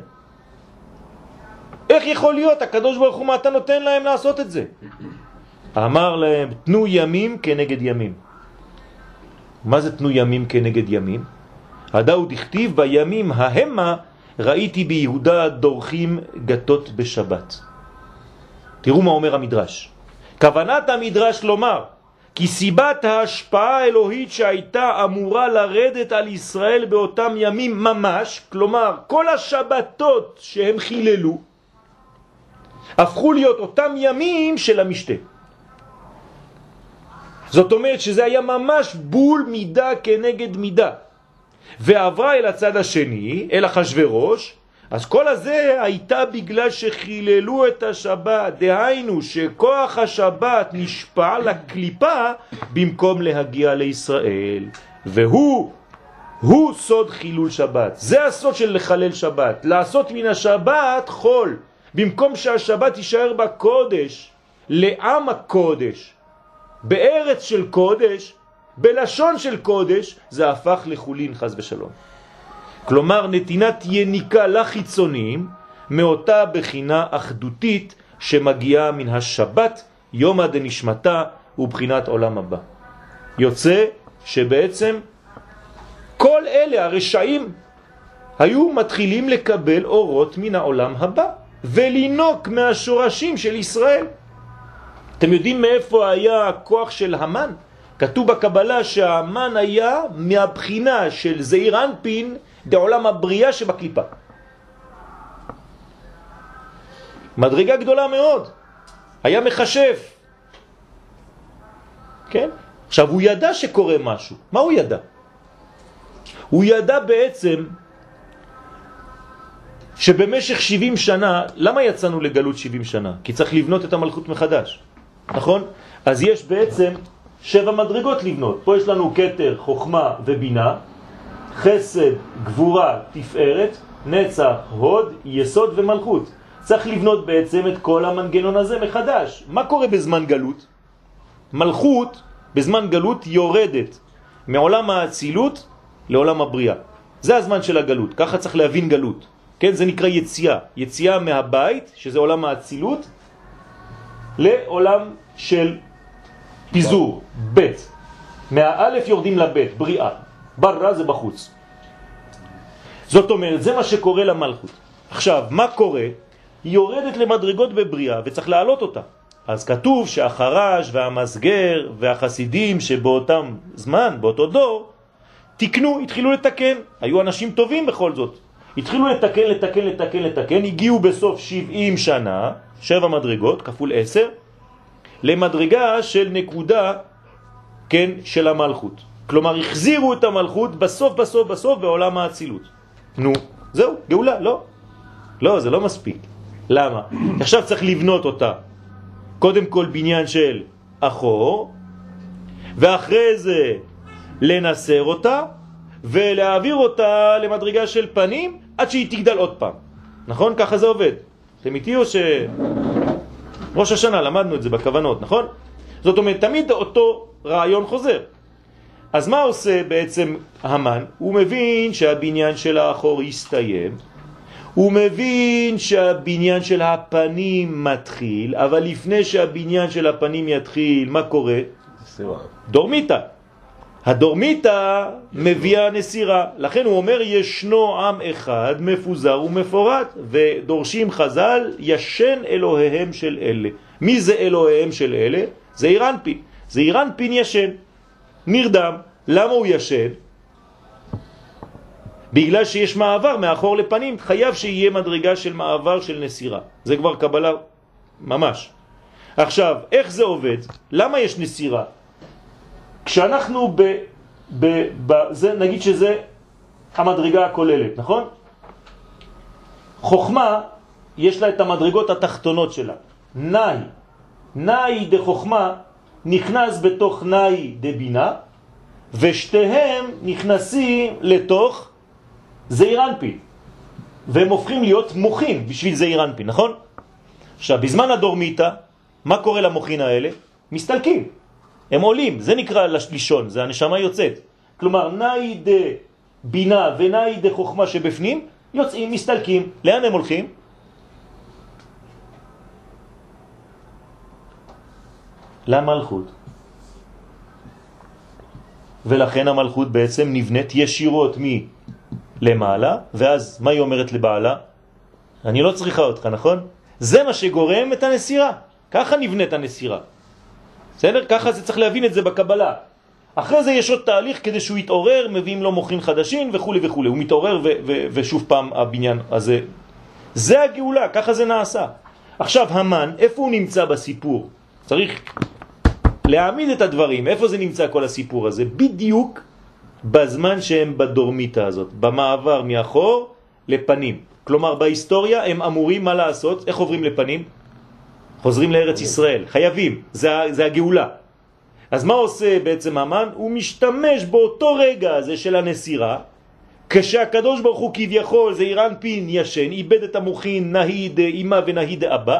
איך יכול להיות? הקדוש ברוך הוא, מה אתה נותן להם לעשות את זה? אמר להם, תנו ימים כנגד ימים. מה זה תנו ימים כנגד ימים? הדאוד הכתיב, בימים ההמה ראיתי ביהודה דורכים גתות בשבת. תראו מה אומר המדרש. כוונת המדרש לומר, כי סיבת ההשפעה האלוהית שהייתה אמורה לרדת על ישראל באותם ימים ממש, כלומר כל השבתות שהם חיללו, הפכו להיות אותם ימים של המשתה. זאת אומרת שזה היה ממש בול מידה כנגד מידה. ועברה אל הצד השני, אל אחשוורוש, אז כל הזה הייתה בגלל שחיללו את השבת, דהיינו שכוח השבת נשפע לקליפה במקום להגיע לישראל. והוא, הוא סוד חילול שבת. זה הסוד של לחלל שבת, לעשות מן השבת חול. במקום שהשבת יישאר בקודש, לעם הקודש, בארץ של קודש, בלשון של קודש, זה הפך לחולין חס ושלום. כלומר נתינת יניקה לחיצונים מאותה בחינה אחדותית שמגיעה מן השבת, יומא דנשמתה ובחינת עולם הבא. יוצא שבעצם כל אלה הרשעים היו מתחילים לקבל אורות מן העולם הבא ולינוק מהשורשים של ישראל. אתם יודעים מאיפה היה הכוח של המן? כתוב בקבלה שהמן היה מהבחינה של זעיר אנפין בעולם הבריאה שבקליפה. מדרגה גדולה מאוד. היה מחשף. כן? עכשיו הוא ידע שקורה משהו. מה הוא ידע? הוא ידע בעצם שבמשך שבעים שנה, למה יצאנו לגלות שבעים שנה? כי צריך לבנות את המלכות מחדש. נכון? אז יש בעצם שבע מדרגות לבנות. פה יש לנו כתר, חוכמה ובינה, חסד, גבורה, תפארת, נצח, הוד, יסוד ומלכות. צריך לבנות בעצם את כל המנגנון הזה מחדש. מה קורה בזמן גלות? מלכות בזמן גלות יורדת מעולם האצילות לעולם הבריאה. זה הזמן של הגלות, ככה צריך להבין גלות. כן, זה נקרא יציאה. יציאה מהבית, שזה עולם האצילות, לעולם של פיזור, בית. מהאלף יורדים לבית, בריאה. ברא זה בחוץ. זאת אומרת, זה מה שקורה למלכות. עכשיו, מה קורה? היא יורדת למדרגות בבריאה וצריך להעלות אותה. אז כתוב שהחרש והמסגר והחסידים שבאותם זמן, באותו דור, תקנו, התחילו לתקן. היו אנשים טובים בכל זאת. התחילו לתקן, לתקן, לתקן, לתקן. הגיעו בסוף שבעים שנה, שבע מדרגות, כפול עשר, למדרגה של נקודה, כן, של המלכות. כלומר, החזירו את המלכות בסוף, בסוף, בסוף, בעולם האצילות. נו, זהו, גאולה, לא. לא, זה לא מספיק. למה? עכשיו צריך לבנות אותה. קודם כל בניין של אחור, ואחרי זה לנסר אותה, ולהעביר אותה למדרגה של פנים, עד שהיא תגדל עוד פעם. נכון? ככה זה עובד. אתם איתי או ש... ראש השנה למדנו את זה בכוונות, נכון? זאת אומרת, תמיד אותו רעיון חוזר. אז מה עושה בעצם המן? הוא מבין שהבניין של האחור יסתיים, הוא מבין שהבניין של הפנים מתחיל, אבל לפני שהבניין של הפנים יתחיל, מה קורה? נסירה. דורמיתה. הדורמיתה מביאה נסירה. לכן הוא אומר, ישנו עם אחד מפוזר ומפורט, ודורשים חז"ל, ישן אלוהיהם של אלה. מי זה אלוהיהם של אלה? זה אירנפין. זה אירנפין ישן. נרדם. למה הוא ישן? בגלל שיש מעבר מאחור לפנים, חייב שיהיה מדרגה של מעבר של נסירה. זה כבר קבלה ממש. עכשיו, איך זה עובד? למה יש נסירה? כשאנחנו ב... ב, ב זה, נגיד שזה המדרגה הכוללת, נכון? חוכמה, יש לה את המדרגות התחתונות שלה. נאי. נאי דחוכמה נכנס בתוך נאי דבינה, ושתיהם נכנסים לתוך זעיר אנפין, והם הופכים להיות מוחין בשביל זעיר אנפין, נכון? עכשיו, בזמן הדורמיתא, מה קורה למוחין האלה? מסתלקים, הם עולים, זה נקרא לישון, זה הנשמה יוצאת. כלומר, נאי דה בינה ונאי דה חוכמה שבפנים, יוצאים, מסתלקים. לאן הם הולכים? למלכות. ולכן המלכות בעצם נבנית ישירות מ... למעלה, ואז מה היא אומרת לבעלה? אני לא צריכה אותך, נכון? זה מה שגורם את הנסירה. ככה נבנית הנסירה. בסדר? ככה זה צריך להבין את זה בקבלה. אחרי זה יש עוד תהליך כדי שהוא יתעורר, מביאים לו מוחין חדשים וכו' וכו'. הוא מתעורר ו- ו- ושוב פעם הבניין הזה. זה הגאולה, ככה זה נעשה. עכשיו המן, איפה הוא נמצא בסיפור? צריך להעמיד את הדברים. איפה זה נמצא כל הסיפור הזה? בדיוק בזמן שהם בדורמיתה הזאת, במעבר מאחור לפנים. כלומר, בהיסטוריה הם אמורים מה לעשות? איך עוברים לפנים? חוזרים לארץ ישראל. חייבים. זה, זה הגאולה. אז מה עושה בעצם המן? הוא משתמש באותו רגע הזה של הנסירה, כשהקדוש ברוך הוא כביכול, זה אירן פין ישן, איבד את המוחין נהיד אמא ונהיד אבא,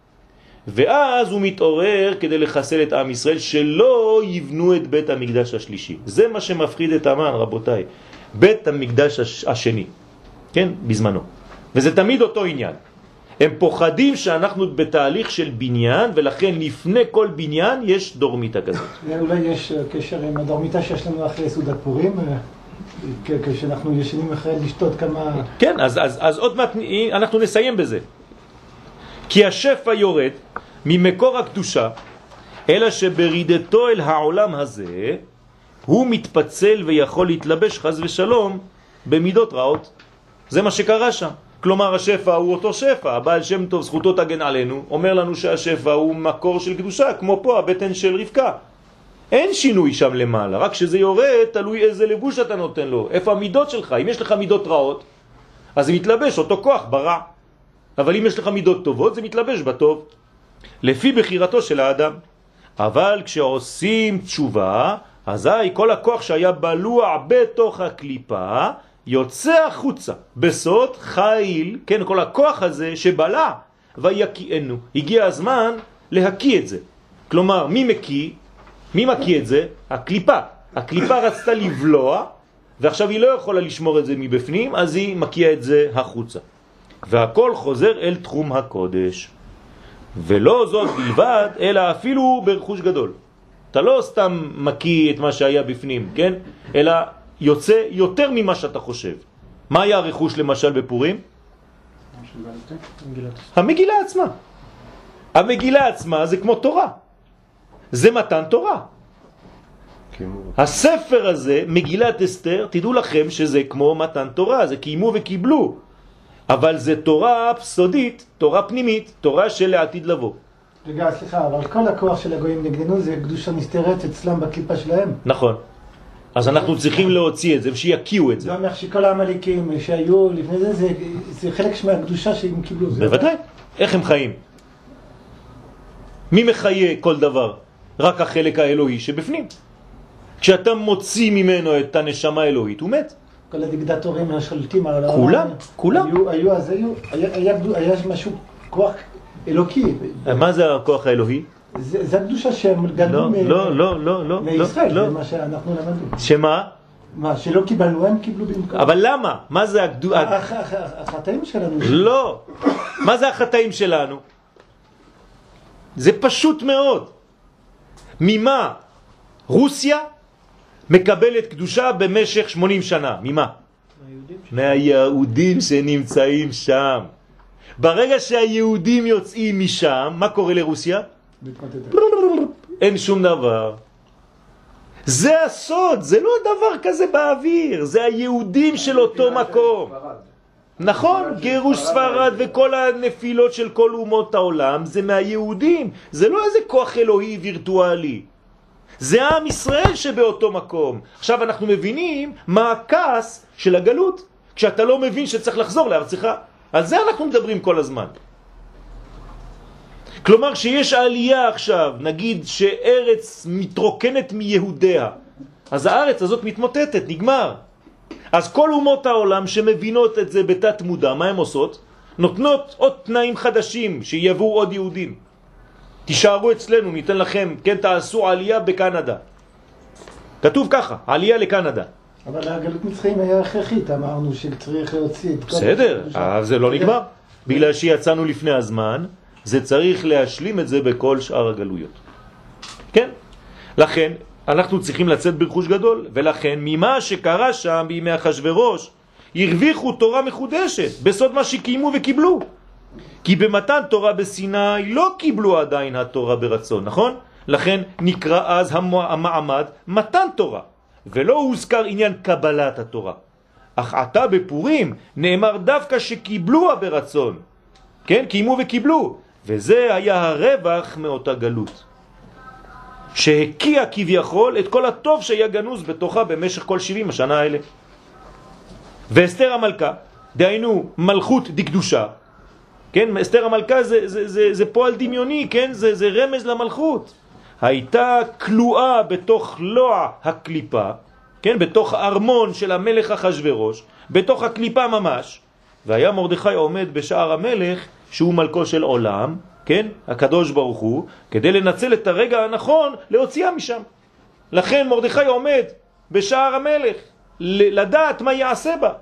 ואז הוא מתעורר כדי לחסל את עם ישראל, שלא יבנו את בית המקדש השלישי. זה מה שמפחיד את המן, רבותיי. בית המקדש השני. כן? בזמנו. וזה תמיד אותו עניין. הם פוחדים שאנחנו בתהליך של בניין, ולכן לפני כל בניין יש דורמיתה כזאת. אולי יש קשר עם הדורמיתה שיש לנו אחרי סעודת פורים, כשאנחנו ישנים אחרי לשתות כמה... כן, אז, אז, אז עוד מעט אנחנו נסיים בזה. כי השפע יורד ממקור הקדושה, אלא שברידתו אל העולם הזה, הוא מתפצל ויכול להתלבש חס ושלום במידות רעות. זה מה שקרה שם. כלומר, השפע הוא אותו שפע. הבעל שם טוב, זכותו תגן עלינו, אומר לנו שהשפע הוא מקור של קדושה, כמו פה הבטן של רבקה. אין שינוי שם למעלה, רק שזה יורד, תלוי איזה לבוש אתה נותן לו. איפה המידות שלך? אם יש לך מידות רעות, אז זה מתלבש אותו כוח ברע. אבל אם יש לך מידות טובות, זה מתלבש בטוב. לפי בחירתו של האדם. אבל כשעושים תשובה, אזי כל הכוח שהיה בלוע בתוך הקליפה יוצא החוצה בסוד חיל, כן, כל הכוח הזה שבלע ויקיענו. הגיע הזמן להקיא את זה. כלומר, מי מקיא? מי מקיא את זה? הקליפה. הקליפה רצתה לבלוע, ועכשיו היא לא יכולה לשמור את זה מבפנים, אז היא מקיאה את זה החוצה. והכל חוזר אל תחום הקודש. ולא זאת בלבד, אלא אפילו ברכוש גדול. אתה לא סתם מקיא את מה שהיה בפנים, כן? אלא יוצא יותר ממה שאתה חושב. מה היה הרכוש למשל בפורים? המגילה עצמה. המגילה עצמה זה כמו תורה. זה מתן תורה. הספר הזה, מגילת אסתר, תדעו לכם שזה כמו מתן תורה, זה קיימו וקיבלו. אבל זה תורה סודית, תורה פנימית, תורה של העתיד לבוא. רגע, סליחה, אבל כל הכוח של הגויים נגדנו זה קדושה נסתרת אצלם בקליפה שלהם. נכון. אז אנחנו צריכים להוציא את זה ושיקיעו את זה. זה אומר שכל העמליקים שהיו לפני זה, זה, זה חלק מהקדושה שהם קיבלו. בוודאי. איך הם חיים? מי מחיה כל דבר? רק החלק האלוהי שבפנים. כשאתה מוציא ממנו את הנשמה האלוהית, הוא מת. כל הדיקטטורים השולטים על העולם. כולם, כולם. היו, היו, אז היו, היה, היה, היה משהו, כוח אלוקי. מה זה הכוח האלוהי? זה, זה הקדושה שהם גדלו לא, לא, לא, לא, לא, מישראל, לא. זה מה שאנחנו למדנו. שמה? מה, שלא קיבלנו, הם קיבלו במקום. אבל למה? מה זה הקדושה? החטאים שלנו. לא. מה זה החטאים שלנו? זה פשוט מאוד. ממה? רוסיה מקבלת קדושה במשך שמונים שנה. ממה? מהיהודים שנמצאים שם. ברגע שהיהודים יוצאים משם, מה קורה לרוסיה? אין שום דבר. זה הסוד, זה לא דבר כזה באוויר, זה היהודים של אותו מקום. נכון, גירוש ספרד וכל הנפילות של כל אומות העולם זה מהיהודים, זה לא איזה כוח אלוהי וירטואלי. זה עם ישראל שבאותו מקום. עכשיו אנחנו מבינים מה הכעס של הגלות, כשאתה לא מבין שצריך לחזור לארצך. על זה אנחנו מדברים כל הזמן. כלומר שיש עלייה עכשיו, נגיד שארץ מתרוקנת מיהודיה, אז הארץ הזאת מתמוטטת, נגמר. אז כל אומות העולם שמבינות את זה בתת מודע, מה הן עושות? נותנות עוד תנאים חדשים, שיבואו עוד יהודים. תישארו אצלנו, ניתן לכם, כן, תעשו עלייה בקנדה. כתוב ככה, עלייה לקנדה. אבל הגלות מצרים היה הכרחית, אמרנו שצריך להוציא את כל... בסדר, אבל זה לא נגמר. בגלל שיצאנו לפני הזמן, זה צריך להשלים את זה בכל שאר הגלויות. כן? לכן, אנחנו צריכים לצאת ברכוש גדול, ולכן ממה שקרה שם בימי אחשוורוש, הרוויחו תורה מחודשת, בסוד מה שקיימו וקיבלו. כי במתן תורה בסיני לא קיבלו עדיין התורה ברצון, נכון? לכן נקרא אז המעמד מתן תורה, ולא הוזכר עניין קבלת התורה. אך עתה בפורים נאמר דווקא שקיבלוה ברצון, כן? קיימו וקיבלו, וזה היה הרווח מאותה גלות, שהקיע כביכול את כל הטוב שהיה גנוז בתוכה במשך כל שבעים השנה האלה. ואסתר המלכה, דהיינו מלכות דקדושה, כן, אסתר המלכה זה, זה, זה, זה פועל דמיוני, כן, זה, זה רמז למלכות. הייתה כלואה בתוך לוע הקליפה, כן, בתוך ארמון של המלך אחשוורוש, בתוך הקליפה ממש, והיה מרדכי עומד בשער המלך, שהוא מלכו של עולם, כן, הקדוש ברוך הוא, כדי לנצל את הרגע הנכון להוציאה משם. לכן מרדכי עומד בשער המלך, לדעת מה יעשה בה.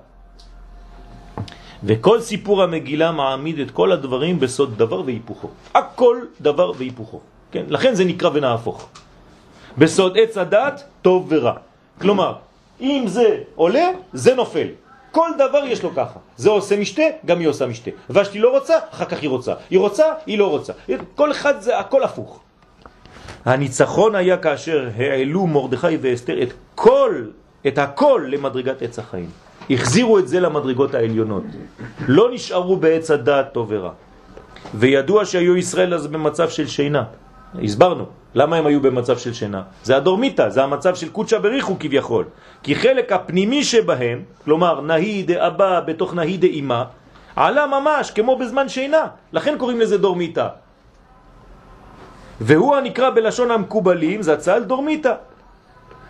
וכל סיפור המגילה מעמיד את כל הדברים בסוד דבר והיפוכו. הכל דבר והיפוכו. כן? לכן זה נקרא ונהפוך. בסוד עץ הדת, טוב ורע. כלומר, אם זה עולה, זה נופל. כל דבר יש לו ככה. זה עושה משתה, גם היא עושה משתה. ושתי לא רוצה, אחר כך היא רוצה. היא רוצה, היא לא רוצה. כל אחד זה הכל הפוך. הניצחון היה כאשר העלו מרדכי ואסתר את כל, את הכל למדרגת עץ החיים. החזירו את זה למדרגות העליונות. לא נשארו בעץ הדעת טוב ורע. וידוע שהיו ישראל אז במצב של שינה. הסברנו. למה הם היו במצב של שינה? זה הדורמיטה, זה המצב של קודשה בריחו כביכול. כי חלק הפנימי שבהם, כלומר נהי דאבא בתוך נהי דאמא, עלה ממש כמו בזמן שינה. לכן קוראים לזה דורמיטה. והוא הנקרא בלשון המקובלים, זה הצל דורמיטה.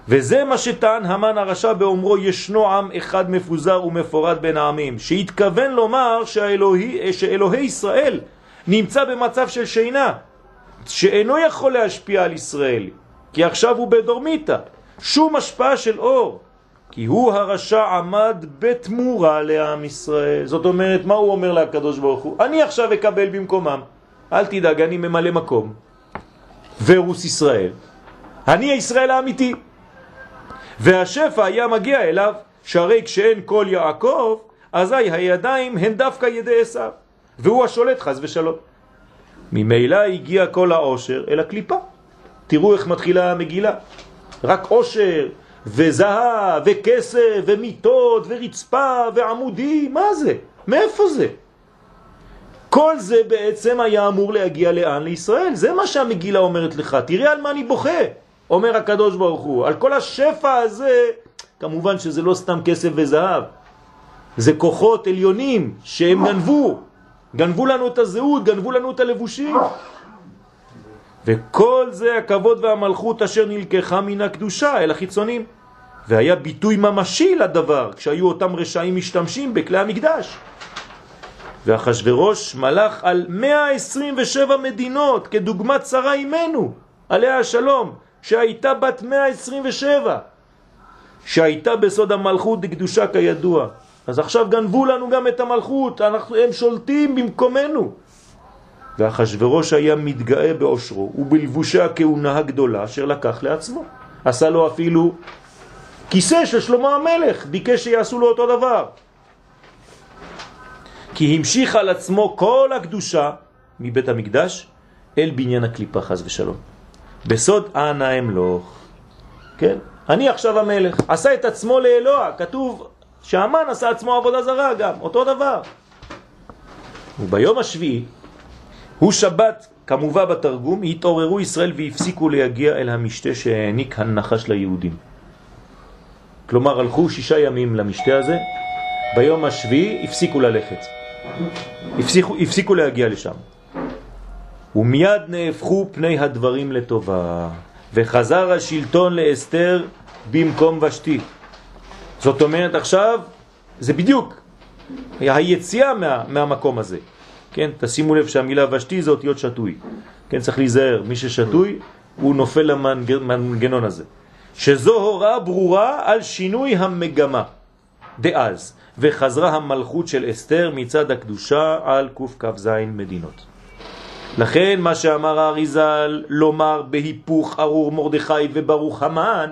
וזה מה שטען המן הרשע באומרו ישנו עם אחד מפוזר ומפורד בין העמים, שהתכוון לומר שאלוהי, שאלוהי ישראל נמצא במצב של שינה, שאינו יכול להשפיע על ישראל, כי עכשיו הוא בדורמיתה, שום השפעה של אור, כי הוא הרשע עמד בתמורה לעם ישראל. זאת אומרת, מה הוא אומר לקדוש ברוך הוא? אני עכשיו אקבל במקומם, אל תדאג, אני ממלא מקום, ורוס ישראל, אני הישראל האמיתי. והשפע היה מגיע אליו, שהרי כשאין כל יעקב, אזי הידיים הן דווקא ידי עשיו, והוא השולט חס ושלום. ממילא הגיע כל העושר אל הקליפה. תראו איך מתחילה המגילה, רק עושר וזהב וכסף ומיטות ורצפה ועמודים, מה זה? מאיפה זה? כל זה בעצם היה אמור להגיע לאן? לישראל. זה מה שהמגילה אומרת לך, תראה על מה אני בוכה, אומר הקדוש ברוך הוא, על כל השפע הזה. כמובן שזה לא סתם כסף וזהב, זה כוחות עליונים שהם גנבו, גנבו לנו את הזהות, גנבו לנו את הלבושים. וכל זה הכבוד והמלכות אשר נלקחה מן הקדושה אל החיצונים. והיה ביטוי ממשי לדבר כשהיו אותם רשעים משתמשים בכלי המקדש. ואחשוורוש מלך על מאה עשרים ושבע מדינות כדוגמת שרה אימנו עליה השלום, שהייתה בת מאה עשרים ושבע, שהייתה בסוד המלכות דקדושה כידוע. אז עכשיו גנבו לנו גם את המלכות, אנחנו, הם שולטים במקומנו. ואחשוורוש היה מתגאה באושרו ובלבושי הכהונה הגדולה אשר לקח לעצמו. עשה לו אפילו כיסא של שלמה המלך, ביקש שיעשו לו אותו דבר. כי המשיך על עצמו כל הקדושה מבית המקדש אל בניין הקליפה חס ושלום. בסוד אנא אמלוך. כן? אני עכשיו המלך. עשה את עצמו לאלוה. כתוב שהמן עשה עצמו עבודה זרה גם. אותו דבר. וביום השביעי הוא שבת, כמובן בתרגום, התעוררו ישראל והפסיקו להגיע אל המשתה שהעניק הנחש ליהודים. כלומר, הלכו שישה ימים למשתה הזה, ביום השביעי הפסיקו ללכת. הפסיקו, הפסיקו להגיע לשם. ומיד נהפכו פני הדברים לטובה, וחזר השלטון לאסתר במקום ושתי. זאת אומרת, עכשיו זה בדיוק היציאה מה, מהמקום הזה. כן, תשימו לב שהמילה ושתי זה אותיות שטוי. כן, צריך להיזהר, מי ששטוי הוא נופל למנגנון הזה. שזו הוראה ברורה על שינוי המגמה דאז, וחזרה המלכות של אסתר מצד הקדושה על קוף כף זין מדינות. לכן מה שאמר האריזל לומר בהיפוך ארור מרדכי וברוך המן,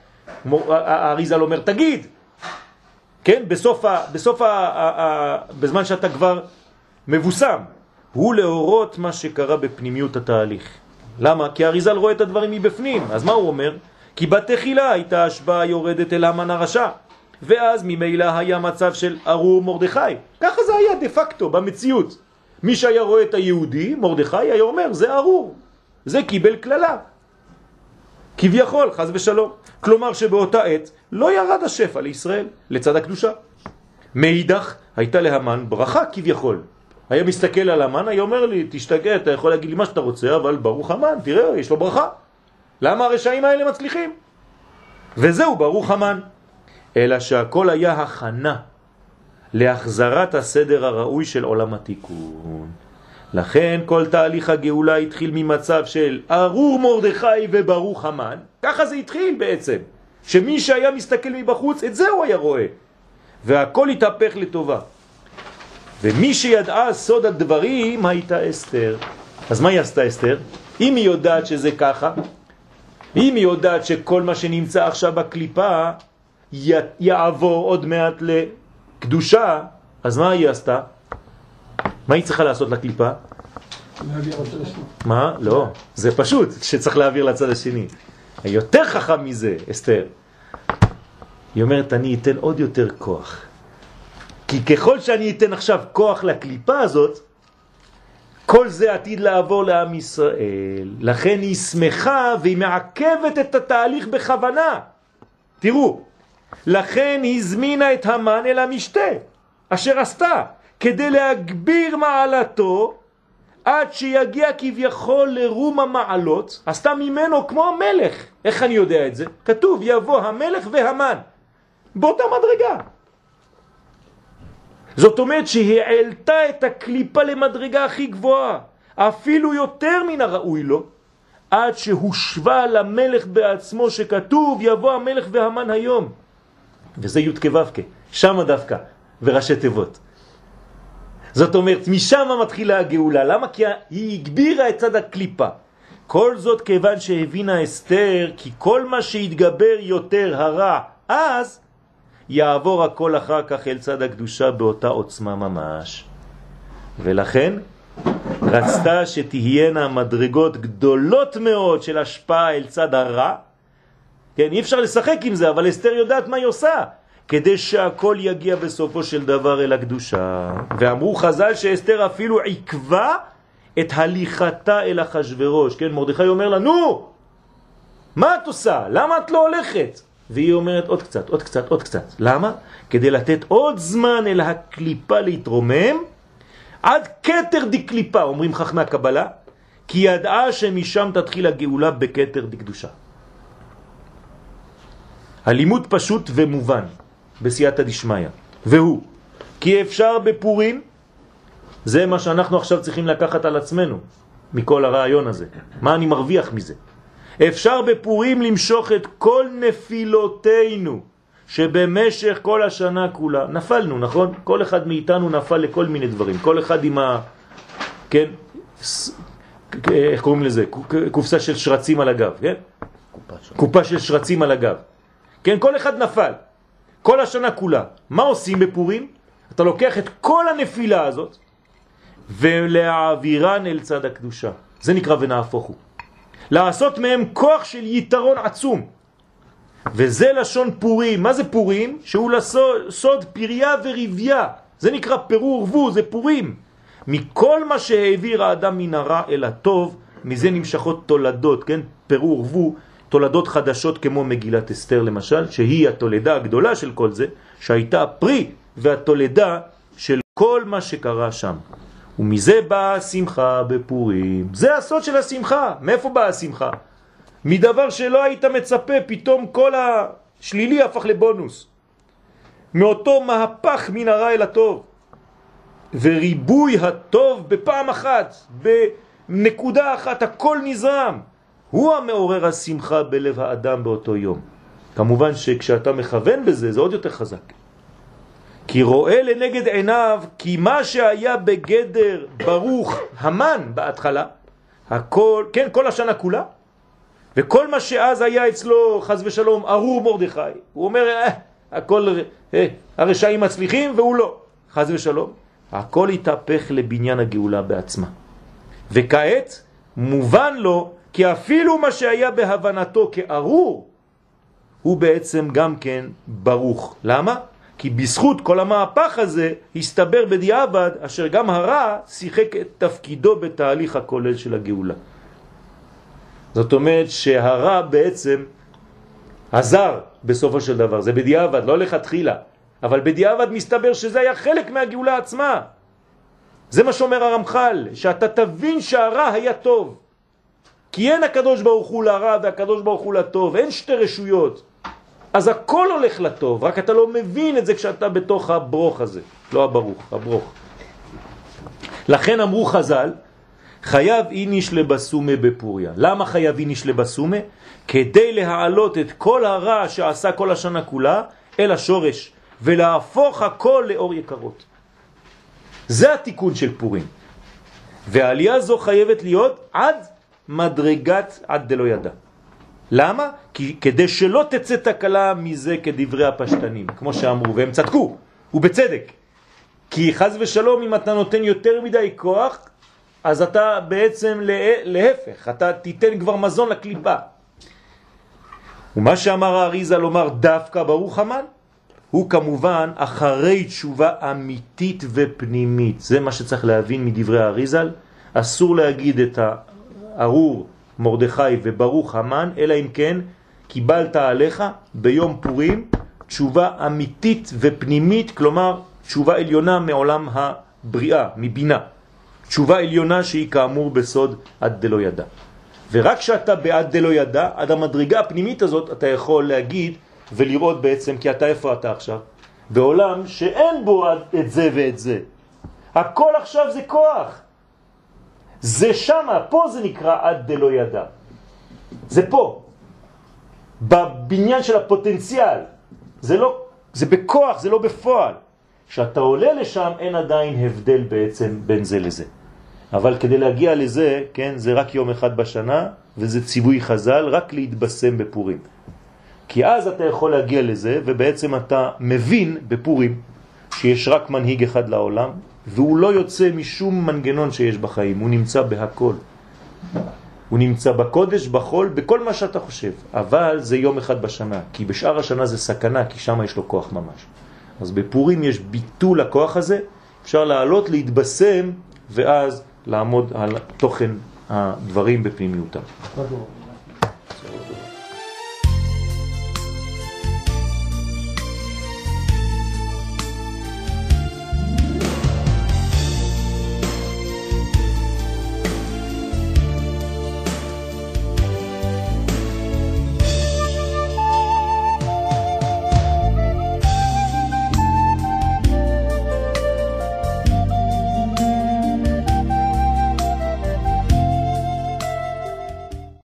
האריזל אומר תגיד, כן, בסוף ה, בסוף ה, ה, ה, בזמן שאתה כבר מבוסם, הוא להורות מה שקרה בפנימיות התהליך. למה? כי האריזל רואה את הדברים מבפנים. אז מה הוא אומר? כי בתחילה הייתה השפעה יורדת אל המן הרשע, ואז ממילא היה מצב של ארור מרדכי. ככה זה היה דה פקטו במציאות. מי שהיה רואה את היהודי, מרדכי, היה אומר זה ארור, זה קיבל כללה כביכול, חס ושלום. כלומר שבאותה עת לא ירד השפע לישראל לצד הקדושה. מאידך הייתה להמן ברכה כביכול. היה מסתכל על המן, היה אומר לי תשתגע, אתה יכול להגיד לי מה שאתה רוצה, אבל ברוך המן, תראה, יש לו ברכה. למה הרשעים האלה מצליחים? וזהו ברוך המן. אלא שהכל היה הכנה להחזרת הסדר הראוי של עולם התיקון. לכן כל תהליך הגאולה התחיל ממצב של ארור מרדכי וברוך המן. ככה זה התחיל בעצם, שמי שהיה מסתכל מבחוץ את זה הוא היה רואה, והכל התהפך לטובה. ומי שידעה סוד הדברים הייתה אסתר. אז מה היא עשתה אסתר? אם היא יודעת שזה ככה, אם היא יודעת שכל מה שנמצא עכשיו בקליפה יעבור עוד מעט לקדושה, אז מה היא עשתה? מה היא צריכה לעשות לקליפה? להעביר לצד השני. מה? לא, זה פשוט שצריך להעביר לצד השני. יותר חכם מזה, אסתר. היא אומרת, אני אתן עוד יותר כוח. כי ככל שאני אתן עכשיו כוח לקליפה הזאת, כל זה עתיד לעבור לעם ישראל. לכן היא שמחה והיא מעכבת את התהליך בכוונה. תראו, לכן היא הזמינה את המן אל המשתה, אשר עשתה, כדי להגביר מעלתו עד שיגיע כביכול לרום המעלות, עשתה ממנו כמו המלך. איך אני יודע את זה? כתוב יבוא המלך והמן באותה מדרגה. זאת אומרת שהיא העלתה את הקליפה למדרגה הכי גבוהה, אפילו יותר מן הראוי לו, עד שהושווה למלך בעצמו, שכתוב יבוא המלך והמן היום. וזה י' כו' שם דווקא, וראשי תיבות. זאת אומרת, משם מתחילה הגאולה. למה? כי היא הגבירה את צד הקליפה. כל זאת כיוון שהבינה אסתר, כי כל מה שהתגבר יותר הרע, אז יעבור הכל אחר כך אל צד הקדושה באותה עוצמה ממש. ולכן רצתה שתהיינה מדרגות גדולות מאוד של השפעה אל צד הרע. כן, אי אפשר לשחק עם זה, אבל אסתר יודעת מה היא עושה, כדי שהכל יגיע בסופו של דבר אל הקדושה. ואמרו חז"ל שאסתר אפילו עקבה את הליכתה אל אחשוורוש. כן, מרדכי אומר לה, נו, מה את עושה? למה את לא הולכת? והיא אומרת עוד קצת, עוד קצת, עוד קצת. למה? כדי לתת עוד זמן אל הקליפה להתרומם, עד כתר דקליפה, אומרים חכמי הקבלה, כי ידעה שמשם תתחיל הגאולה בכתר דקדושה. הלימוד פשוט ומובן בסייעתא דשמיא, והוא כי אפשר בפורים, זה מה שאנחנו עכשיו צריכים לקחת על עצמנו מכל הרעיון הזה. מה אני מרוויח מזה? אפשר בפורים למשוך את כל נפילותינו שבמשך כל השנה כולה נפלנו, נכון? כל אחד מאיתנו נפל לכל מיני דברים, כל אחד עם ה... כן? איך קוראים לזה? קופסה של שרצים על הגב, כן? קופה של שרצים על הגב. כן, כל אחד נפל. כל השנה כולה. מה עושים בפורים? אתה לוקח את כל הנפילה הזאת ולהעבירן אל צד הקדושה. זה נקרא ונהפוך הוא. לעשות מהם כוח של יתרון עצום. וזה לשון פורים. מה זה פורים? שהוא לסוד פריה ורביה. זה נקרא פירור ורבו, זה פורים. מכל מה שהעביר האדם מן הרע אל הטוב, מזה נמשכות תולדות, כן? פירור ורבו, תולדות חדשות כמו מגילת אסתר למשל, שהיא התולדה הגדולה של כל זה, שהייתה הפרי והתולדה של כל מה שקרה שם. ומזה באה השמחה בפורים. זה הסוד של השמחה. מאיפה באה השמחה? מדבר שלא היית מצפה, פתאום כל השלילי הפך לבונוס. מאותו מהפך מן הרע אל הטוב. וריבוי הטוב בפעם אחת, בנקודה אחת, הכל נזרם. הוא המעורר השמחה בלב האדם באותו יום. כמובן שכשאתה מכוון בזה, זה עוד יותר חזק. כי רואה לנגד עיניו, כי מה שהיה בגדר ברוך המן בהתחלה, הכל, כן, כל השנה כולה, וכל מה שאז היה אצלו, חס ושלום, ארור מרדכי, הוא אומר, אה, הכל, אה, הרשעים מצליחים והוא לא, חס ושלום, הכל התהפך לבניין הגאולה בעצמה. וכעת מובן לו, כי אפילו מה שהיה בהבנתו כארור, הוא בעצם גם כן ברוך. למה? כי בזכות כל המהפך הזה הסתבר בדיעבד אשר גם הרע שיחק את תפקידו בתהליך הכולל של הגאולה. זאת אומרת שהרע בעצם עזר בסופו של דבר, זה בדיעבד, לא לכתחילה, אבל בדיעבד מסתבר שזה היה חלק מהגאולה עצמה. זה מה שאומר הרמח"ל, שאתה תבין שהרע היה טוב. כי אין הקדוש ברוך הוא לרע והקדוש ברוך הוא לטוב, אין שתי רשויות. אז הכל הולך לטוב, רק אתה לא מבין את זה כשאתה בתוך הברוך הזה, לא הברוך, הברוך. לכן אמרו חז"ל, חייב איניש לבסומה בפוריה. למה חייב איניש לבסומה? כדי להעלות את כל הרע שעשה כל השנה כולה אל השורש, ולהפוך הכל לאור יקרות. זה התיקון של פורים. והעלייה זו חייבת להיות עד מדרגת עד דלא ידע. למה? כי כדי שלא תצא תקלה מזה כדברי הפשטנים, כמו שאמרו, והם צדקו, ובצדק. כי חז ושלום, אם אתה נותן יותר מדי כוח, אז אתה בעצם להפך, אתה תיתן כבר מזון לקליפה. ומה שאמר האריזה לומר דווקא ברוך המן, הוא כמובן אחרי תשובה אמיתית ופנימית. זה מה שצריך להבין מדברי האריזל. אסור להגיד את הארור מרדכי וברוך המן, אלא אם כן קיבלת עליך ביום פורים תשובה אמיתית ופנימית, כלומר תשובה עליונה מעולם הבריאה, מבינה. תשובה עליונה שהיא כאמור בסוד עד דלא ידע. ורק כשאתה בעד דלא ידע, עד המדרגה הפנימית הזאת, אתה יכול להגיד ולראות בעצם, כי אתה איפה אתה עכשיו? בעולם שאין בו את זה ואת זה. הכל עכשיו זה כוח. זה שמה, פה זה נקרא עד דלא ידע. זה פה. בבניין של הפוטנציאל. זה לא, זה בכוח, זה לא בפועל. כשאתה עולה לשם אין עדיין הבדל בעצם בין זה לזה. אבל כדי להגיע לזה, כן, זה רק יום אחד בשנה, וזה ציווי חז"ל, רק להתבשם בפורים. כי אז אתה יכול להגיע לזה, ובעצם אתה מבין בפורים, שיש רק מנהיג אחד לעולם, והוא לא יוצא משום מנגנון שיש בחיים, הוא נמצא בהכל. הוא נמצא בקודש, בחול, בכל מה שאתה חושב. אבל זה יום אחד בשנה, כי בשאר השנה זה סכנה, כי שם יש לו כוח ממש. אז בפורים יש ביטול הכוח הזה, אפשר לעלות, להתבשם, ואז לעמוד על תוכן הדברים בפנימיותם.